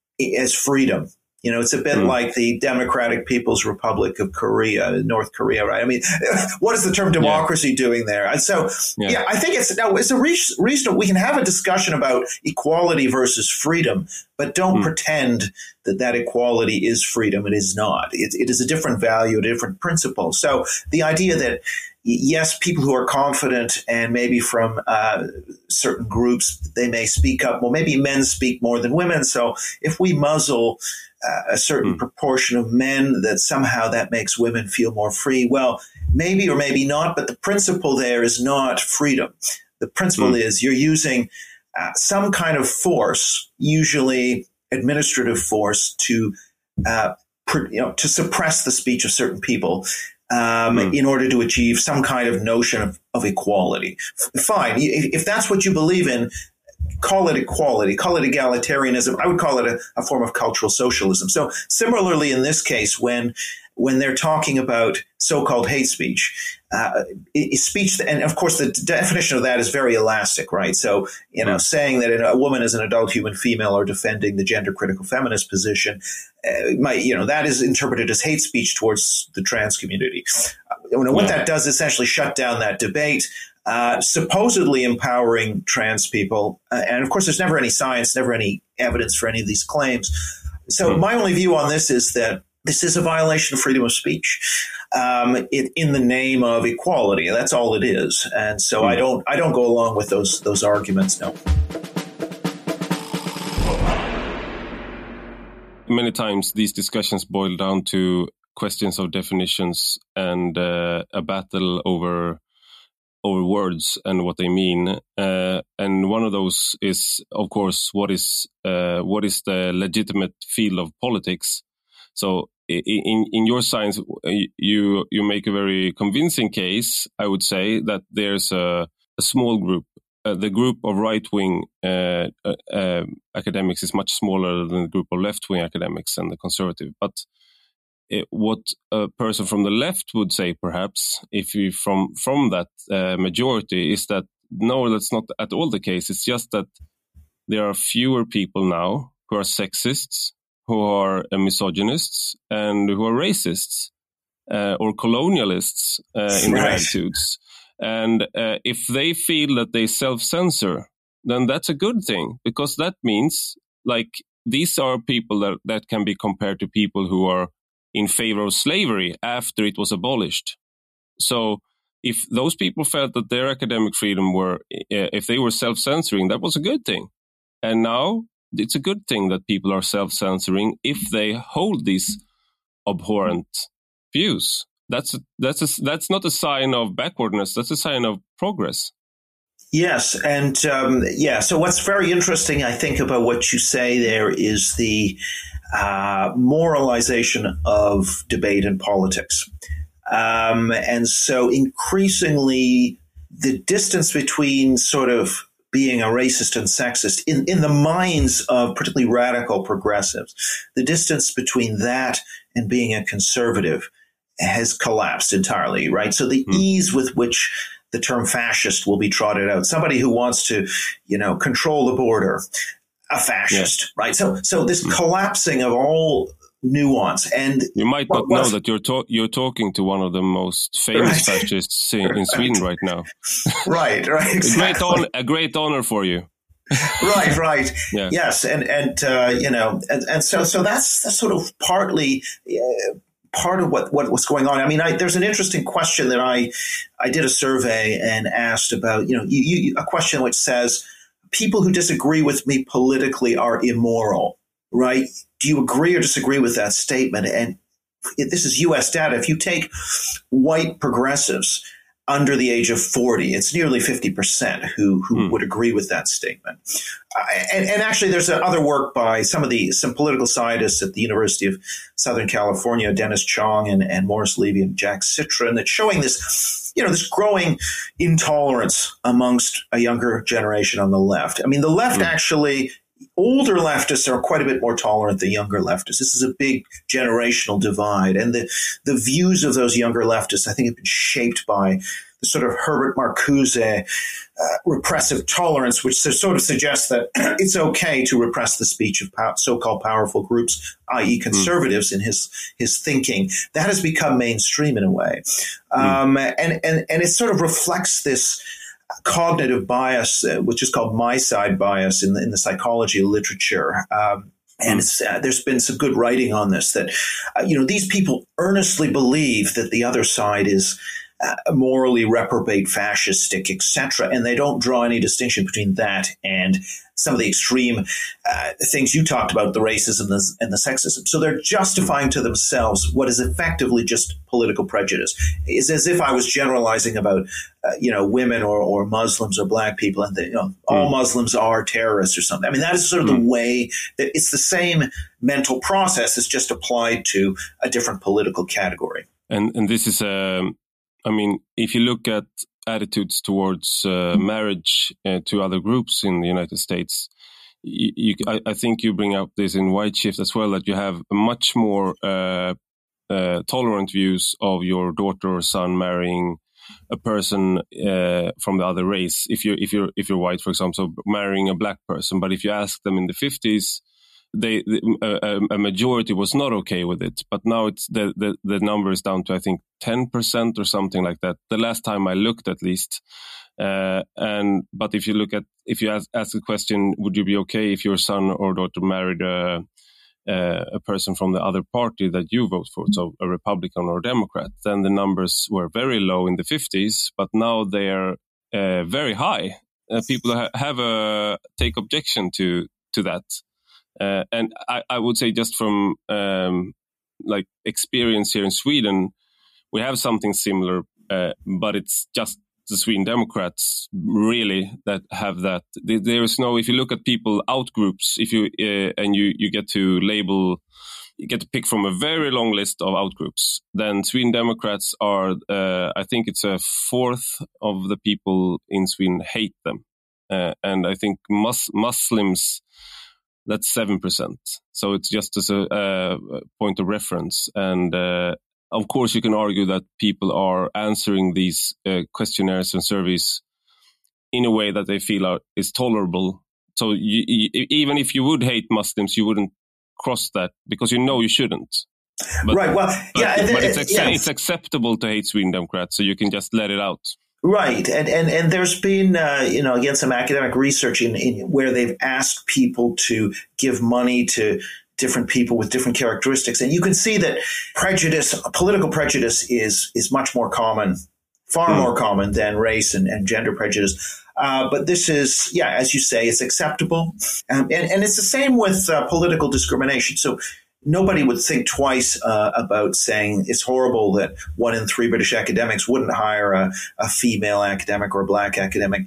as freedom. You know, it's a bit mm. like the Democratic People's Republic of Korea, North Korea, right? I mean, what is the term democracy yeah. doing there? And so, yeah. yeah, I think it's no, it's a re- reasonable. We can have a discussion about equality versus freedom, but don't mm. pretend that that equality is freedom. It is not. It, it is a different value, a different principle. So the idea that, yes, people who are confident and maybe from uh, certain groups, they may speak up. Well, maybe men speak more than women. So if we muzzle uh, a certain mm. proportion of men, that somehow that makes women feel more free. Well, maybe or maybe not, but the principle there is not freedom. The principle mm. is you're using uh, some kind of force, usually administrative force, to uh, pr- you know to suppress the speech of certain people. Um, mm. in order to achieve some kind of notion of, of equality. F- fine. If, if that's what you believe in, call it equality, call it egalitarianism. I would call it a, a form of cultural socialism. So similarly, in this case, when when they're talking about so-called hate speech, uh, speech, and of course the definition of that is very elastic, right? So, you know, mm. saying that a woman is an adult human female or defending the gender-critical feminist position, uh, might, you know, that is interpreted as hate speech towards the trans community. Uh, you know, what yeah. that does is essentially shut down that debate, uh, supposedly empowering trans people. Uh, and of course, there's never any science, never any evidence for any of these claims. So mm. my only view on this is that this is a violation of freedom of speech, um, it, in the name of equality. That's all it is, and so mm. I don't. I don't go along with those those arguments. No. Many times these discussions boil down to questions of definitions and uh, a battle over over words and what they mean. Uh, and one of those is, of course, what is uh, what is the legitimate field of politics. So in in your science, you you make a very convincing case, I would say, that there's a, a small group. Uh, the group of right-wing uh, uh, uh, academics is much smaller than the group of left-wing academics and the conservative. But it, what a person from the left would say, perhaps, if you from from that uh, majority, is that no, that's not at all the case. It's just that there are fewer people now who are sexists, who are uh, misogynists, and who are racists uh, or colonialists uh, in right. their attitudes. And uh, if they feel that they self-censor, then that's a good thing, because that means, like, these are people that, that can be compared to people who are in favor of slavery after it was abolished. So if those people felt that their academic freedom were, uh, if they were self-censoring, that was a good thing. And now it's a good thing that people are self-censoring if they hold these abhorrent views. That's a, that's a, that's not a sign of backwardness. That's a sign of progress. Yes, and um, yeah. So what's very interesting, I think, about what you say there is the uh, moralization of debate and politics, um, and so increasingly the distance between sort of being a racist and sexist in, in the minds of particularly radical progressives, the distance between that and being a conservative has collapsed entirely, right? So the mm. ease with which the term fascist will be trotted out, somebody who wants to, you know, control the border, a fascist, yeah. right? So, so this mm. collapsing of all nuance, and you might not know that you're to- you're talking to one of the most famous right. fascists in, in right. Sweden right now. right, right, exactly. a great honor, a great honor for you. right, right, yeah. yes, and and uh, you know, and, and so so that's, that's sort of partly. Uh, part of what, what was going on. I mean, I, there's an interesting question that I, I did a survey and asked about, you know, you, you, a question which says, people who disagree with me politically are immoral, right? Do you agree or disagree with that statement? And it, this is U S data. If you take white progressives under the age of forty, it's nearly fifty percent who, who mm. would agree with that statement. Uh, and, and actually, there's other work by some of the some political scientists at the University of Southern California, Dennis Chong and, and Morris Levy and Jack Citron, that's showing this, you know, this growing intolerance amongst a younger generation on the left. I mean, the left mm. actually, older leftists are quite a bit more tolerant than younger leftists. This is a big generational divide. And the, the views of those younger leftists, I think, have been shaped by the sort of Herbert Marcuse uh, repressive tolerance, which sort of suggests that it's okay to repress the speech of pow- so-called powerful groups, that is conservatives, mm. in his his thinking. That has become mainstream in a way. Um, mm. and, and, and it sort of reflects this cognitive bias, uh, which is called my side bias in the, in the psychology literature. Um, and it's, uh, there's been some good writing on this, that, uh, you know, these people earnestly believe that the other side is uh, morally reprobate, fascistic, et cetera. And they don't draw any distinction between that and some of the extreme uh, things you talked about, the racism and the, and the sexism. So they're justifying to themselves what is effectively just political prejudice. It's as if I was generalizing about, uh, you know, women or, or Muslims or black people, and that, you know, all mm. Muslims are terrorists or something. I mean, that is sort of mm. the way that it's the same mental process. It's just applied to a different political category. And and this is, um, I mean, if you look at attitudes towards uh, marriage uh, to other groups in the United States, you, you, I, I think you bring up this in White Shift as well, that you have much more uh, uh, tolerant views of your daughter or son marrying a person uh, from the other race. If you're if you're if you're white, for example, so marrying a black person. But if you ask them in the fifties, they a, a majority was not okay with it. But now it's the, the the number is down to, I think, ten percent or something like that. The last time I looked, at least. Uh, and but if you look at if you ask, ask the question, would you be okay if your son or daughter married a uh, a person from the other party that you vote for, so a Republican or a Democrat? Then the numbers were very low in the fifties, but now they are uh, very high. Uh, people ha- have a take objection to to that. Uh, and I, I would say, just from um, like experience here in Sweden, we have something similar, uh, but it's just the Sweden Democrats really that have that. There is no, if you look at people out groups, if you uh, and you, you get to label get to pick from a very long list of outgroups, then Sweden Democrats are, uh, I think it's a fourth of the people in Sweden hate them. Uh, and I think mus- Muslims, that's seven percent. So it's just as a, a point of reference. And uh, of course, you can argue that people are answering these uh, questionnaires and surveys in a way that they feel are, is tolerable. So you, you, even if you would hate Muslims, you wouldn't cross that because you know you shouldn't. But, right. Well, yeah, but, but it's, it, ac- yeah. it's acceptable to hate Sweden Democrats, so you can just let it out. Right. And and, and there's been, uh, you know, again, some academic research in, in where they've asked people to give money to different people with different characteristics. And you can see that prejudice, political prejudice is is much more common, far mm. more common than race and, and gender prejudice. Uh, but this is, yeah, as you say, it's acceptable. Um, and, and it's the same with uh, political discrimination. So nobody would think twice uh, about saying it's horrible that one in three British academics wouldn't hire a, a female academic or a black academic.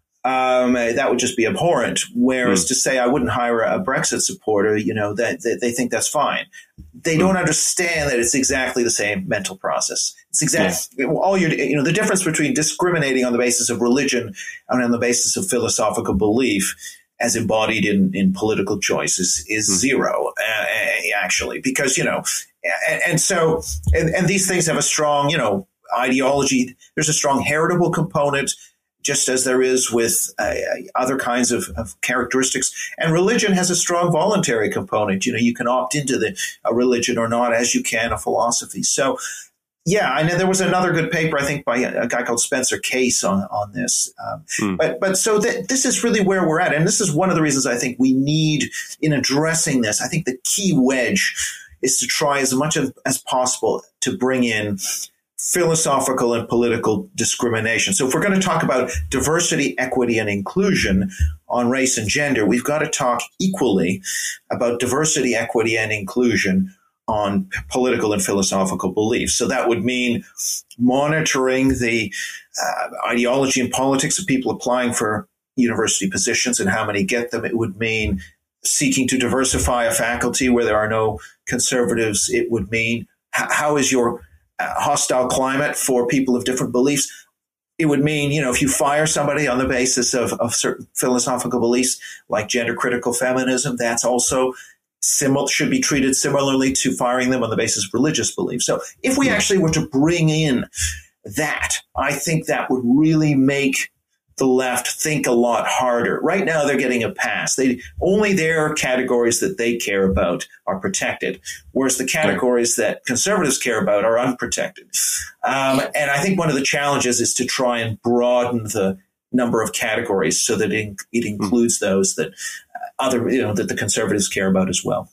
Um, that would just be abhorrent. Whereas mm. to say I wouldn't hire a Brexit supporter, you know, that, that they think that's fine. They mm. don't understand that it's exactly the same mental process. It's exactly yeah. all you you know, the difference between discriminating on the basis of religion and on the basis of philosophical belief as embodied in, in political choices is mm. zero, uh, actually, because, you know, and, and so, and, and these things have a strong, you know, ideology. There's a strong heritable component, just as there is with uh, other kinds of, of characteristics. And religion has a strong voluntary component. You know, you can opt into the a religion or not as you can a philosophy. So, yeah, I know there was another good paper, I think, by a, a guy called Spencer Case on, on this. Um, mm. But but so th- this is really where we're at. And this is one of the reasons I think we need, in addressing this, I think the key wedge is to try as much as, as possible to bring in philosophical and political discrimination. So if we're going to talk about diversity, equity, and inclusion on race and gender, we've got to talk equally about diversity, equity, and inclusion on political and philosophical beliefs. So that would mean monitoring the uh, ideology and politics of people applying for university positions and how many get them. It would mean seeking to diversify a faculty where there are no conservatives. It would mean h- how is your uh, hostile climate for people of different beliefs? It would mean, you know, if you fire somebody on the basis of, of certain philosophical beliefs like gender critical feminism, that's also Similar, should be treated similarly to firing them on the basis of religious beliefs. So if we actually were to bring in that, I think that would really make the left think a lot harder. Right now, they're getting a pass. They only their categories that they care about are protected, whereas the categories that conservatives care about are unprotected. Um, and I think one of the challenges is to try and broaden the number of categories so that it, it includes those that other, you know, that the conservatives care about as well.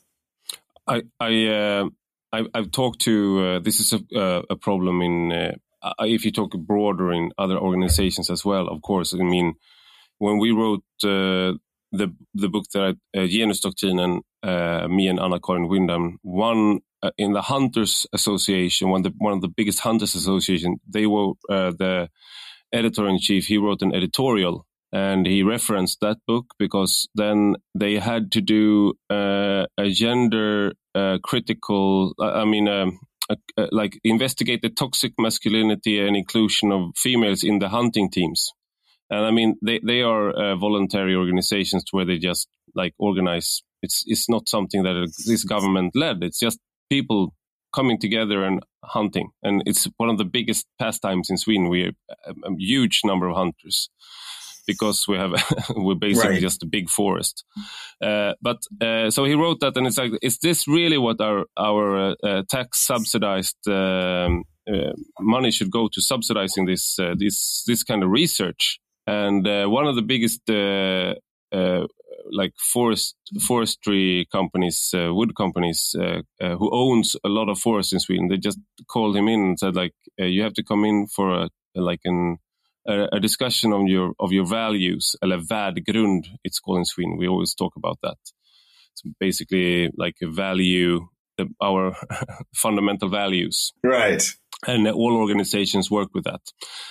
I, I, uh, I I've talked to. Uh, this is a, uh, a problem in. Uh, if you talk broader in other organizations as well, of course. I mean, when we wrote uh, the the book that uh, Genusdoktrinen, uh, me and Anna-Karin Wyndham, one uh, in the Hunters Association, one of the one of the biggest Hunters Association, they were uh, the editor in chief. He wrote an editorial. And he referenced that book because then they had to do uh, a gender uh, critical, I mean, um, uh, uh, like investigate the toxic masculinity and inclusion of females in the hunting teams. And I mean, they, they are uh, voluntary organizations where they just like organize. It's, it's not something that is government led. It's just people coming together and hunting. And it's one of the biggest pastimes in Sweden. We have a, a huge number of hunters. Because we have, we're basically right. just a big forest. Uh, but uh, so he wrote that, and it's like, is this really what our our uh, tax subsidized um, uh, money should go to subsidizing this uh, this this kind of research? And uh, one of the biggest uh, uh, like forest forestry companies, uh, wood companies, uh, uh, who owns a lot of forests in Sweden, they just called him in and said, like, uh, you have to come in for a like an a discussion of your of your values, eller värdegrund, it's called in Sweden. We always talk about that. It's basically like a value, the, our fundamental values. Right. And all organizations work with that.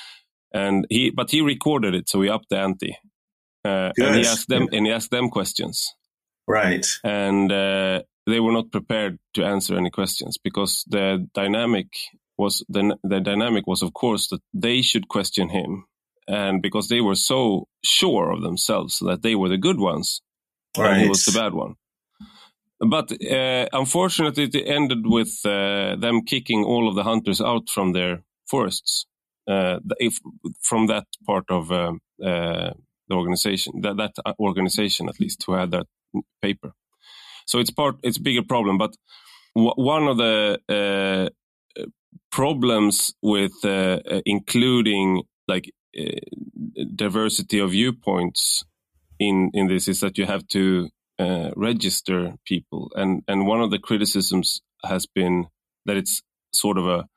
And he, but he recorded it, so he upped the ante. Uh, and he asked them, and he asked them questions. Right. And uh, they were not prepared to answer any questions, because the dynamic was the, the dynamic was, of course, that they should question him, and because they were so sure of themselves that they were the good ones, right, and he was the bad one. But uh, unfortunately, it ended with uh, them kicking all of the hunters out from their forests, uh, if, from that part of uh, uh, the organization, that, that organization at least, who had that paper. So it's part, it's a bigger problem. But w- one of the uh, problems with uh, including like uh, diversity of viewpoints in in this is that you have to uh, register people, and and one of the criticisms has been that it's sort of a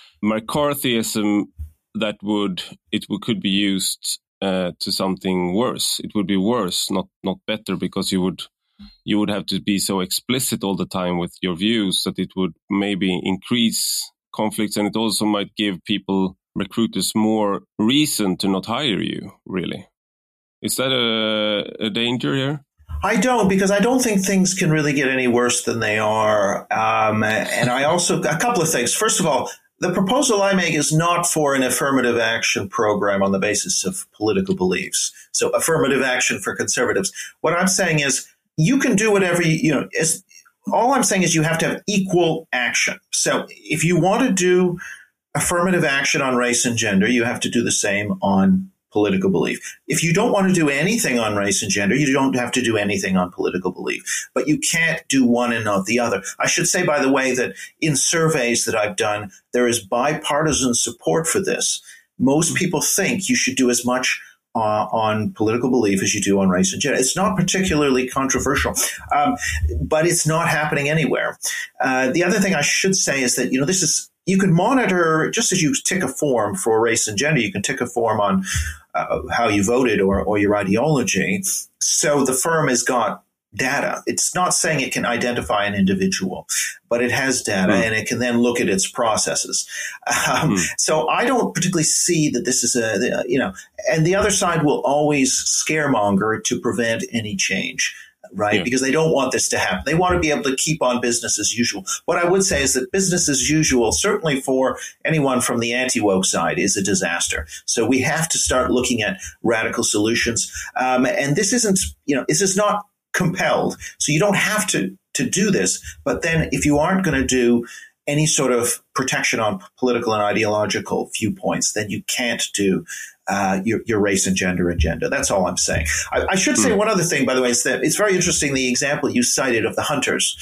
McCarthyism that would it would, could be used uh, to something worse. It would be worse, not not better, because you would. You would have to be so explicit all the time with your views that it would maybe increase conflicts, and it also might give people, recruiters, more reason to not hire you, really. Is that a, a danger here? I don't, because I don't think things can really get any worse than they are. Um, and I also, a couple of things. First of all, the proposal I make is not for an affirmative action program on the basis of political beliefs. So affirmative action for conservatives. What I'm saying is, you can do whatever you, you know, it's, all I'm saying is you have to have equal action. So if you want to do affirmative action on race and gender, you have to do the same on political belief. If you don't want to do anything on race and gender, you don't have to do anything on political belief. But you can't do one and not the other. I should say, by the way, that in surveys that I've done, there is bipartisan support for this. Most people think you should do as much Uh, on political belief as you do on race and gender. It's not particularly controversial, um, but it's not happening anywhere. Uh, the other thing I should say is that, you know, this is, you can monitor, just as you tick a form for race and gender, you can tick a form on uh, how you voted or, or your ideology. So the firm has got data. It's not saying it can identify an individual, but it has data mm. and it can then look at its processes. Um, mm. So I don't particularly see that this is a, you know, and the other side will always scaremonger to prevent any change, right? Yeah. Because they don't want this to happen. They want to be able to keep on business as usual. What I would say is that business as usual, certainly for anyone from the anti-woke side, is a disaster. So we have to start looking at radical solutions. Um, and this isn't, you know, this is not compelled. So you don't have to, to do this. But then if you aren't going to do any sort of protection on political and ideological viewpoints, then you can't do uh, your, your race and gender agenda. That's all I'm saying. I, I should say mm. one other thing, by the way, is that it's very interesting, the example you cited of the hunters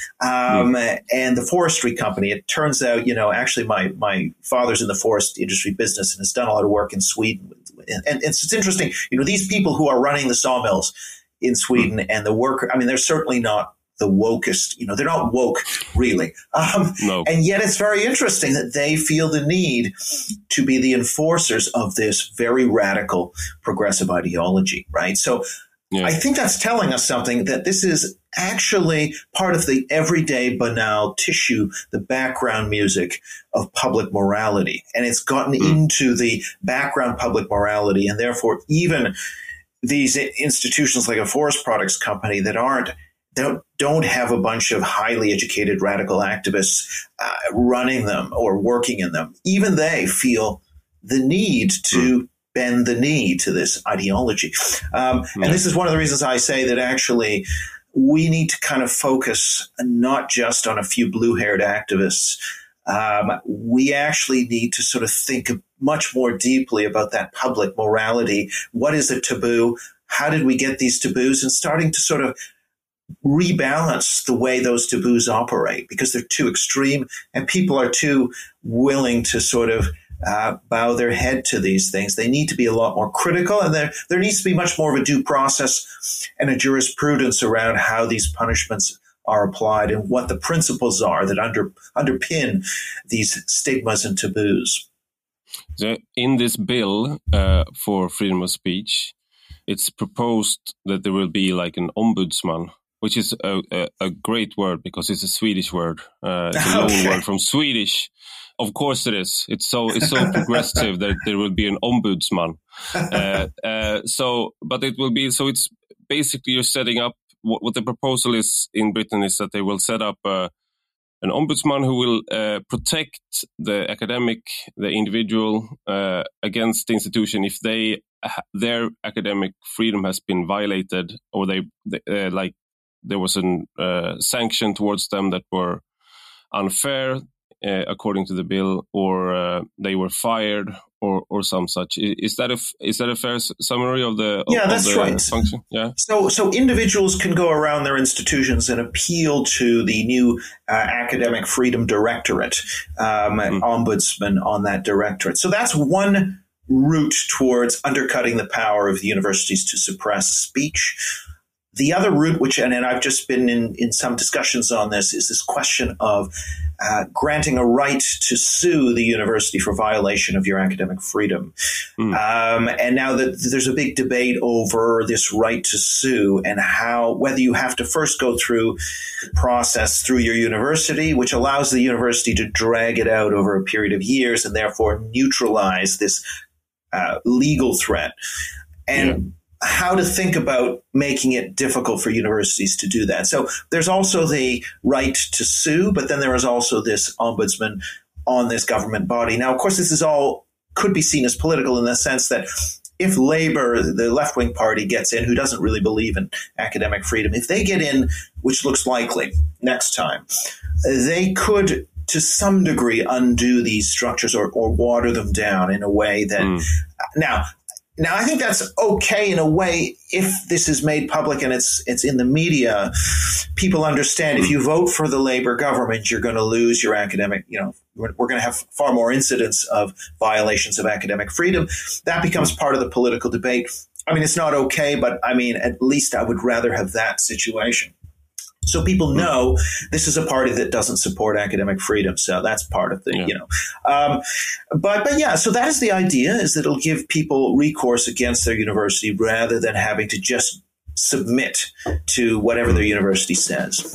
um, mm. and the forestry company. It turns out, you know, actually my, my father's in the forest industry business and has done a lot of work in Sweden. And, and it's, it's interesting, you know, these people who are running the sawmills in Sweden mm. and the worker, I mean, they're certainly not the wokest, you know, they're not woke really. Um, no. And yet it's very interesting that they feel the need to be the enforcers of this very radical progressive ideology, right? So yeah. I think that's telling us something, that this is actually part of the everyday banal tissue, the background music of public morality. And it's gotten mm. into the background public morality, and therefore even these institutions like a forest products company that aren't don't don't have a bunch of highly educated radical activists uh, running them or working in them. Even they feel the need to mm. bend the knee to this ideology. Um, mm. And this is one of the reasons I say that actually we need to kind of focus not just on a few blue-haired activists. Um, we actually need to sort of think much more deeply about that public morality. What is a taboo? How did we get these taboos? And starting to sort of rebalance the way those taboos operate, because they're too extreme and people are too willing to sort of uh, bow their head to these things. They need to be a lot more critical, and there, there needs to be much more of a due process and a jurisprudence around how these punishments are applied and what the principles are that under, underpin these stigmas and taboos. So in this bill uh, for freedom of speech, it's proposed that there will be like an ombudsman, which is a, a, a great word because it's a Swedish word. Uh, it's a okay. loan word from Swedish. Of course it is. It's so it's so progressive that there will be an ombudsman. Uh, uh, so, but it will be so. It's basically you're setting up what, what the proposal is in Britain is that they will set up a an ombudsman who will uh, protect the academic, the individual uh, against the institution if they their academic freedom has been violated, or they, they uh, like there was a uh, sanction towards them that were unfair uh, according to the bill, or uh, they were fired, or or some such. Is that a is that a fair summary of the of, yeah that's of the right function? Yeah. So so individuals can go around their institutions and appeal to the new uh, Academic Freedom Directorate, um, mm. ombudsman on that directorate. So that's one route towards undercutting the power of the universities to suppress speech. The other route, which, and, and I've just been in, in some discussions on this, is this question of uh, granting a right to sue the university for violation of your academic freedom. Mm. Um, and now that there's a big debate over this right to sue and how, whether you have to first go through the process through your university, which allows the university to drag it out over a period of years and therefore neutralize this uh, legal threat. And yeah. how to think about making it difficult for universities to do that. So there's also the right to sue, but then there is also this ombudsman on this government body. Now, of course, this is all could be seen as political in the sense that if Labour, the left-wing party, gets in, who doesn't really believe in academic freedom, if they get in, which looks likely next time, they could to some degree undo these structures or, or water them down in a way that mm. now Now, I think that's okay in a way if this is made public and it's it's in the media. People understand if you vote for the Labour government, you're going to lose your academic, you know, we're, we're going to have far more incidents of violations of academic freedom. That becomes part of the political debate. I mean, it's not okay, but I mean, at least I would rather have that situation. So people know this is a party that doesn't support academic freedom. So that's part of the, yeah. you know, um, but, but yeah, so that is the idea, is that it'll give people recourse against their university rather than having to just submit to whatever their university says.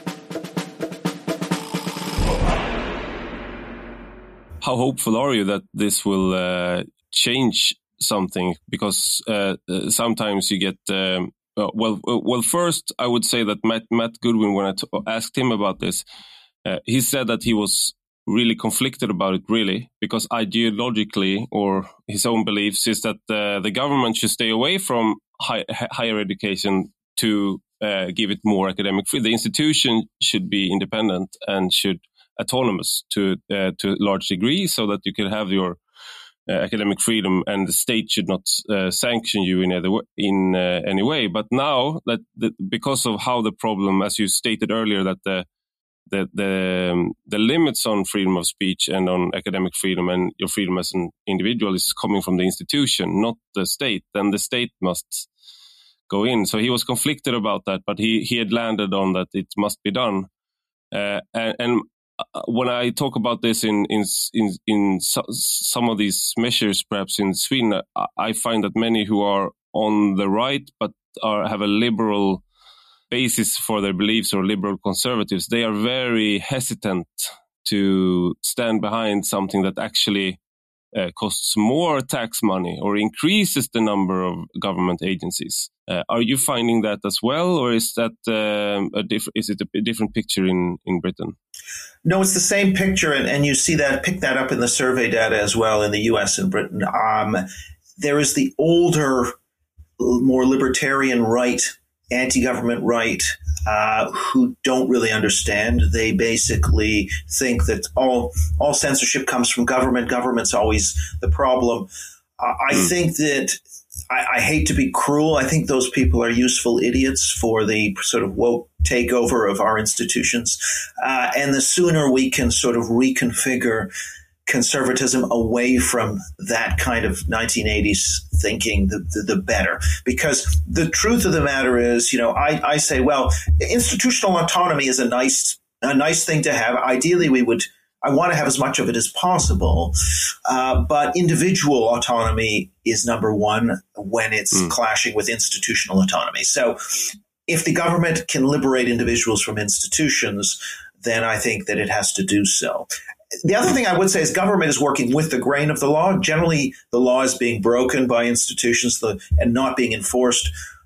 How hopeful are you that this will uh, change something? Because uh, sometimes you get, um, Uh, well, well. First, I would say that Matt, Matt Goodwin, when I t- asked him about this, uh, he said that he was really conflicted about it, really, because ideologically, or his own beliefs, is that uh, the government should stay away from high, higher education to uh, give it more academic freedom. The institution should be independent and should autonomous to uh, to a large degree, so that you can have your Uh, academic freedom, and the state should not uh, sanction you in, either w- in uh, any way. But now that the, because of how the problem, as you stated earlier, that the the the, um, the limits on freedom of speech and on academic freedom and your freedom as an individual is coming from the institution, not the state, then the state must go in. So he was conflicted about that, but he he had landed on that it must be done. Uh, and, and when I talk about this in in in, in so, some of these measures, perhaps in Sweden, I find that many who are on the right but are have a liberal basis for their beliefs, or liberal conservatives, they are very hesitant to stand behind something that actually uh, costs more tax money or increases the number of government agencies. Uh, are you finding that as well, or is that um, a diff- is it a different picture in, in Britain? No, it's the same picture, and, and you see that, pick that up in the survey data as well in the U S and Britain. Um, there is the older, more libertarian right, anti-government right, uh, who don't really understand. They basically think that all all censorship comes from government. Government's always the problem. Uh, I mm. think that I, I hate to be cruel. I think those people are useful idiots for the sort of woke takeover of our institutions. Uh, and the sooner we can sort of reconfigure conservatism away from that kind of nineteen eighties thinking, the, the, the better. Because the truth of the matter is, you know, I, I say, well, institutional autonomy is a nice, a nice thing to have. Ideally, we would I want to have as much of it as possible. Uh, but individual autonomy is number one when it's mm. clashing with institutional autonomy. So if the government can liberate individuals from institutions, then I think that it has to do so. The other thing I would say is government is working with the grain of the law. Generally, the law is being broken by institutions and not being enforced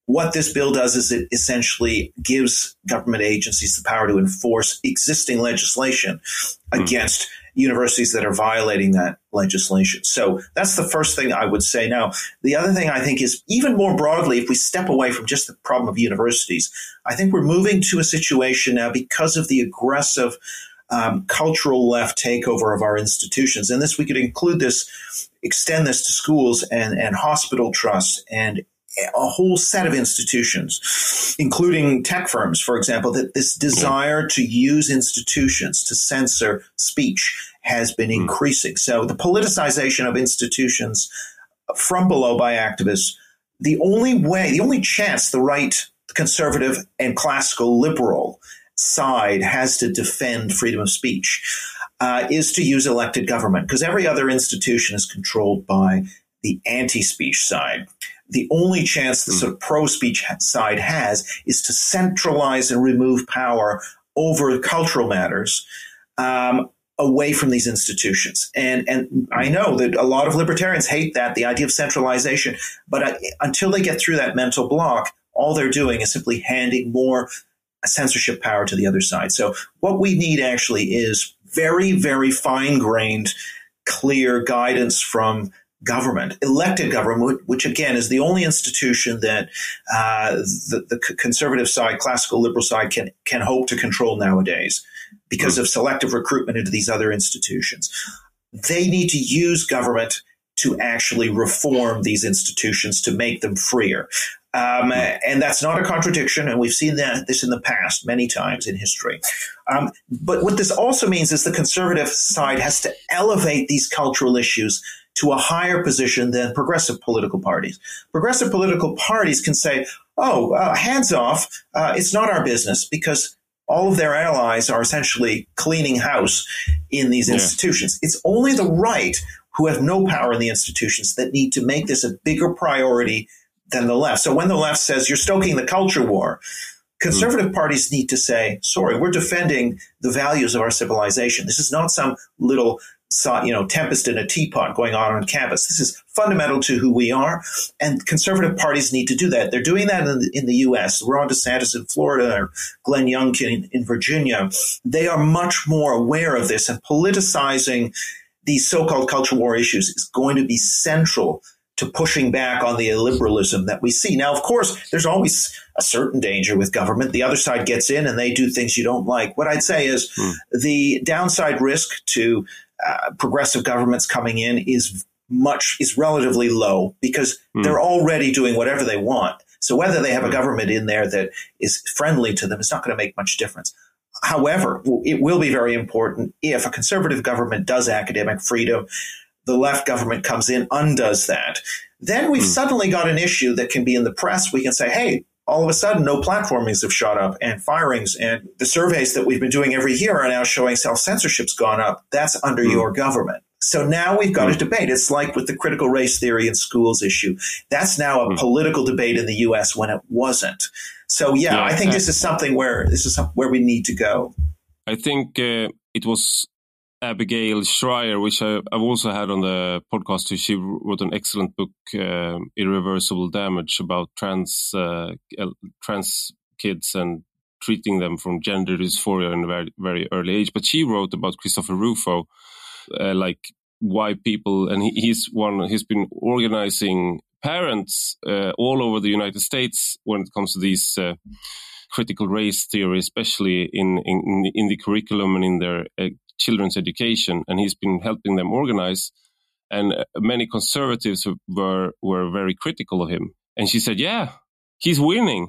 what this bill does is it essentially gives government agencies the power to enforce existing legislation mm. against universities that are violating that legislation. So that's the first thing I would say. Now, the other thing I think is even more broadly, if we step away from just the problem of universities, I think we're moving to a situation now because of the aggressive um, cultural left takeover of our institutions. And this, we could include this, extend this to schools and, and hospital trusts and a whole set of institutions, including tech firms, for example, that this desire to use institutions to censor speech has been increasing. So the politicization of institutions from below by activists, the only way, the only chance the right, conservative, and classical liberal side has to defend freedom of speech uh, is to use elected government, because every other institution is controlled by the anti-speech side. The only chance the sort of pro-speech side has is to centralize and remove power over cultural matters um, away from these institutions. And and I know that a lot of libertarians hate that, the idea of centralization. But I, until they get through that mental block, all they're doing is simply handing more censorship power to the other side. So what we need actually is very, very fine-grained, clear guidance from government, elected government, which again is the only institution that uh, the, the conservative side, classical liberal side can can hope to control nowadays because mm-hmm. of selective recruitment into these other institutions. They need to use government to actually reform these institutions to make them freer. Um, and that's not a contradiction, and we've seen that this in the past many times in history. Um, but what this also means is the conservative side has to elevate these cultural issues to a higher position than progressive political parties. Progressive political parties can say, oh, uh, hands off, uh, it's not our business, because all of their allies are essentially cleaning house in these yeah. institutions. It's only the right, who have no power in the institutions, that need to make this a bigger priority than the left. So when the left says you're stoking the culture war, conservative mm. parties need to say, sorry, we're defending the values of our civilization. This is not some little you know, tempest in a teapot going on on campus. This is fundamental to who we are, and conservative parties need to do that. They're doing that in the, in the U S. Ron DeSantis in Florida, or Glenn Youngkin in, in Virginia. They are much more aware of this, and politicizing these so-called culture war issues is going to be central to pushing back on the illiberalism that we see. Now, of course, there's always a certain danger with government. The other side gets in and they do things you don't like. What I'd say is hmm. the downside risk to Uh, progressive governments coming in is much is relatively low, because mm. they're already doing whatever they want. So whether they have a government in there that is friendly to them is not going to make much difference. However, it will be very important if a conservative government does academic freedom, the left government comes in, undoes that. Then we've mm. suddenly got an issue that can be in the press. We can say, hey, all of a sudden, no platformings have shot up, and firings, and the surveys that we've been doing every year are now showing self-censorship's gone up. That's under mm. your government. So now we've got mm. a debate. It's like with the critical race theory in schools issue. That's now a mm. political debate in the U S when it wasn't. So, yeah, yeah I think uh, this is something where this is where we need to go. I think uh, it was Abigail Shrier, which I, I've also had on the podcast. She wrote an excellent book, uh, Irreversible Damage, about trans uh, trans kids and treating them from gender dysphoria in a very, very early age. But she wrote about Christopher Rufo, uh, like why people, and he, he's one, he's been organizing parents uh, all over the United States when it comes to these uh, critical race theory, especially in, in, in the curriculum and in their uh, children's education, and he's been helping them organize. And uh, many conservatives were were very critical of him. And she said, "Yeah, he's winning."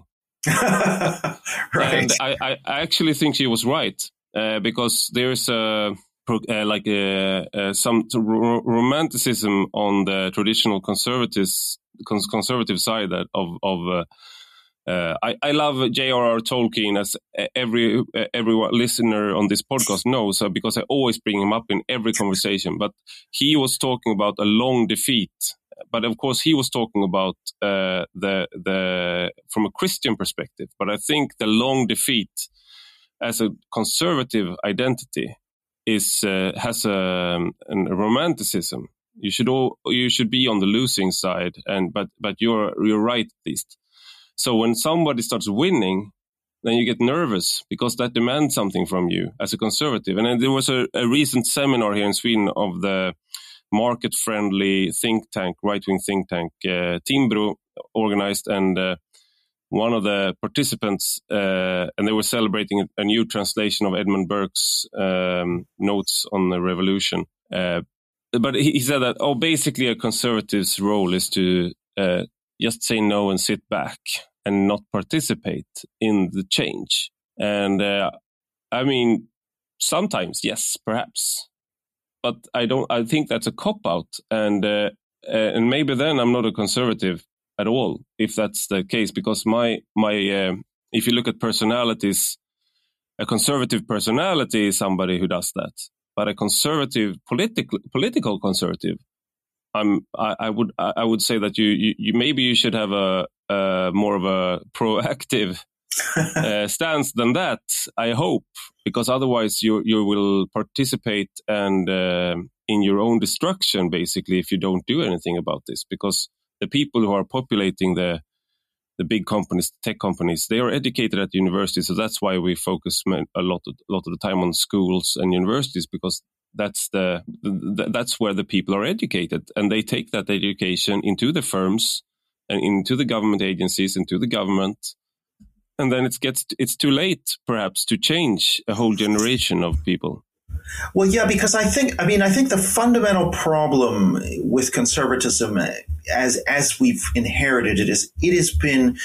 Right. And I, I actually think she was right, uh, because there's a uh, like a, uh, some ro- romanticism on the traditional conservatives cons- conservative side that of of. Uh, Uh, I, I love J R R Tolkien, as every every listener on this podcast knows, uh, because I always bring him up in every conversation. But he was talking about a long defeat. But of course, he was talking about uh, the the from a Christian perspective. But I think the long defeat as a conservative identity is uh, has a, a romanticism. You should all you should be on the losing side, and but but you're you're right at least. So when somebody starts winning, then you get nervous because that demands something from you as a conservative. And then there was a, a recent seminar here in Sweden of the market-friendly think tank, right-wing think tank, uh, Timbro organized, and uh, one of the participants, uh, and they were celebrating a, a new translation of Edmund Burke's um, notes on the revolution. Uh, but he, he said that, oh, basically a conservative's role is to uh, just say no and sit back and not participate in the change. And uh, I mean, sometimes, yes, perhaps. But I don't. I think that's a cop-out. And, uh, uh, and maybe then I'm not a conservative at all, if that's the case, because my my uh, if you look at personalities, a conservative personality is somebody who does that, but a conservative political political conservative, I'm I, I would I would say that you, you, you maybe you should have a, a more of a proactive uh, stance than that, I hope, because otherwise you you will participate and uh, in your own destruction basically if you don't do anything about this, because the people who are populating the the big companies, tech companies, they are educated at universities. So that's why we focus a lot of, a lot of the time on schools and universities, because that's the, the that's where the people are educated, and they take that education into the firms and into the government agencies, into the government, and then it gets it's too late perhaps to change a whole generation of people. Well, yeah, because I think, I mean, I think the fundamental problem with conservatism as as we've inherited it is it has been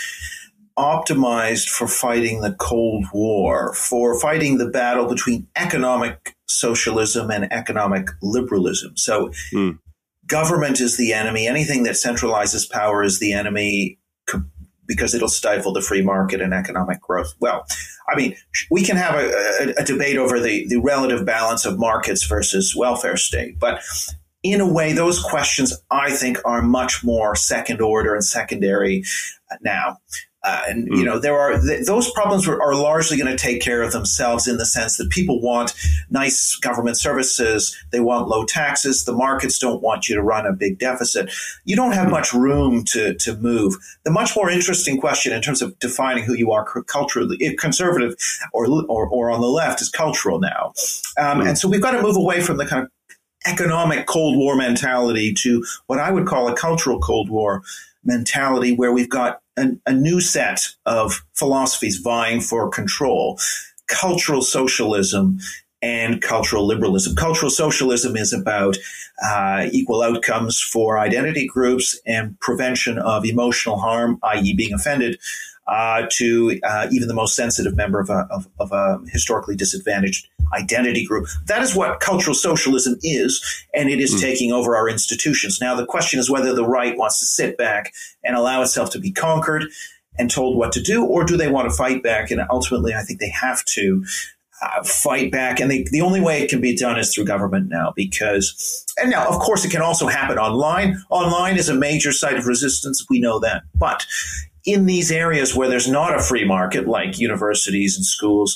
optimized for fighting the Cold War, for fighting the battle between economic socialism and economic liberalism. So mm. government is the enemy. Anything that centralizes power is the enemy, because it'll stifle the free market and economic growth. Well, I mean, we can have a, a, a debate over the, the relative balance of markets versus welfare state. But in a way, those questions, I think, are much more second order and secondary now. Uh, and, mm. you know, there are th- those problems are, are largely going to take care of themselves in the sense that people want nice government services. They want low taxes. The markets don't want you to run a big deficit. You don't have much room to, to move. The much more interesting question in terms of defining who you are culturally, conservative or, or, or on the left, is cultural now. Um, mm. And so we've got to move away from the kind of economic Cold War mentality to what I would call a cultural Cold War mentality, where we've got an, a new set of philosophies vying for control: cultural socialism and cultural liberalism. Cultural socialism is about uh, equal outcomes for identity groups and prevention of emotional harm, that is being offended, uh, to uh, even the most sensitive member of a, of, of a historically disadvantaged identity group. That is what cultural socialism is, and it is mm. taking over our institutions. Now, the question is whether the right wants to sit back and allow itself to be conquered and told what to do, or do they want to fight back? And ultimately, I think they have to uh, fight back. And they, the only way it can be done is through government now, because, and now, of course, it can also happen online. Online is a major site of resistance. We know that. But in these areas where there's not a free market, like universities and schools,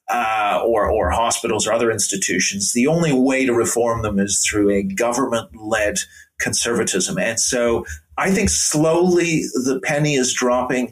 Uh, or, or hospitals or other institutions, the only way to reform them is through a government-led conservatism. And so I think slowly the penny is dropping,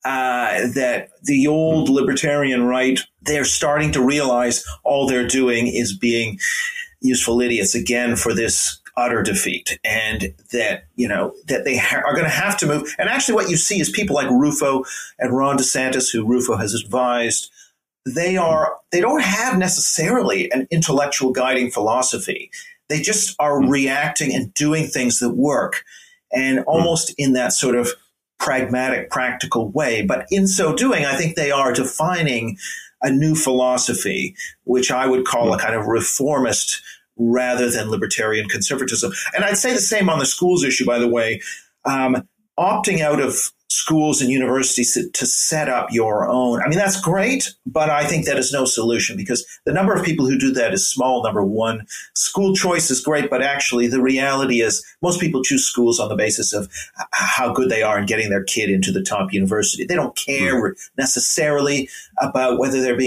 uh, that the old libertarian right, they're starting to realize all they're doing is being useful idiots again for this utter defeat, and that, you know, that they ha- are going to have to move. And actually what you see is people like Rufo and Ron DeSantis, who Rufo has advised, They are, they don't have necessarily an intellectual guiding philosophy. They just are mm. reacting and doing things that work, and almost mm. in that sort of pragmatic, practical way. But in so doing, I think they are defining a new philosophy, which I would call mm. a kind of reformist rather than libertarian conservatism. And I'd say the same on the schools issue, by the way. Um, opting out of schools and universities to, to set up your own, I mean, that's great, but I think that is no solution, because the number of people who do that is small, number one. School choice is great, but actually the reality is most people choose schools on the basis of how good they are in getting their kid into the top university. They don't care necessarily about whether they're being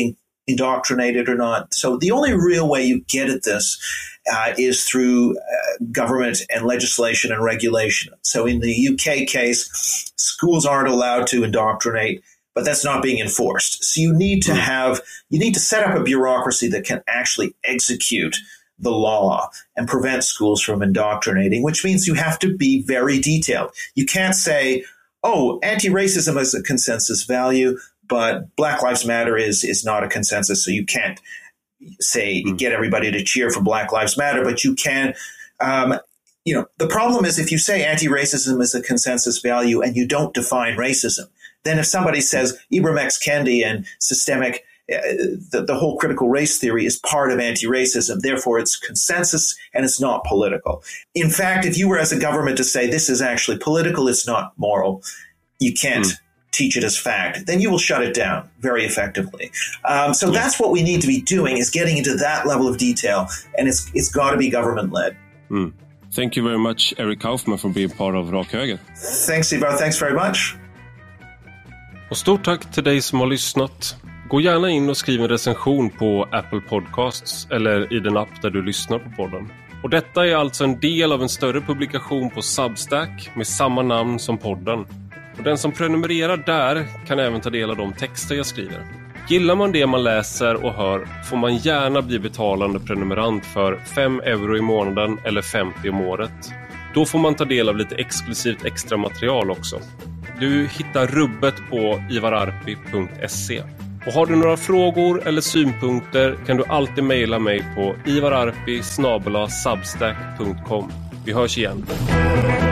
indoctrinated or not. So the only real way you get at this uh, is through uh, government and legislation and regulation. So in the U K case, schools aren't allowed to indoctrinate, but that's not being enforced. So you need to have, you need to set up a bureaucracy that can actually execute the law and prevent schools from indoctrinating, which means you have to be very detailed. You can't say, oh, anti-racism is a consensus value, but Black Lives Matter is is not a consensus, so you can't say mm. get everybody to cheer for Black Lives Matter, but you can. Um, you know, the problem is if you say anti-racism is a consensus value and you don't define racism, then if somebody says Ibram X. Kendi and systemic, uh, the, the whole critical race theory is part of anti-racism, therefore it's consensus and it's not political. In fact, if you were as a government to say this is actually political, it's not moral, you can't mm. teach it as fact, then you will shut it down very effectively. Um, so yeah. that's what we need to be doing, is getting into that level of detail, and it's it's got to be government-led. Mm. Thank you very much, Eric Kaufman, for being part of Rak Höger. Thanks, Ivar. Thanks very much. Och stort tack till dig som har lyssnat. Gå gärna in och skriv en recension på Apple Podcasts eller i den app där du lyssnar på podden. Och detta är alltså en del av en större publikation på Substack med samma namn som podden. Och den som prenumererar där kan även ta del av de texter jag skriver. Gillar man det man läser och hör får man gärna bli betalande prenumerant för fem euro i månaden eller femtio om året. Då får man ta del av lite exklusivt extra material också. Du hittar rubbet på ivararpi punkt se. Och har du några frågor eller synpunkter kan du alltid mejla mig på ivararpi snabel-a substack punkt com. Vi hörs igen.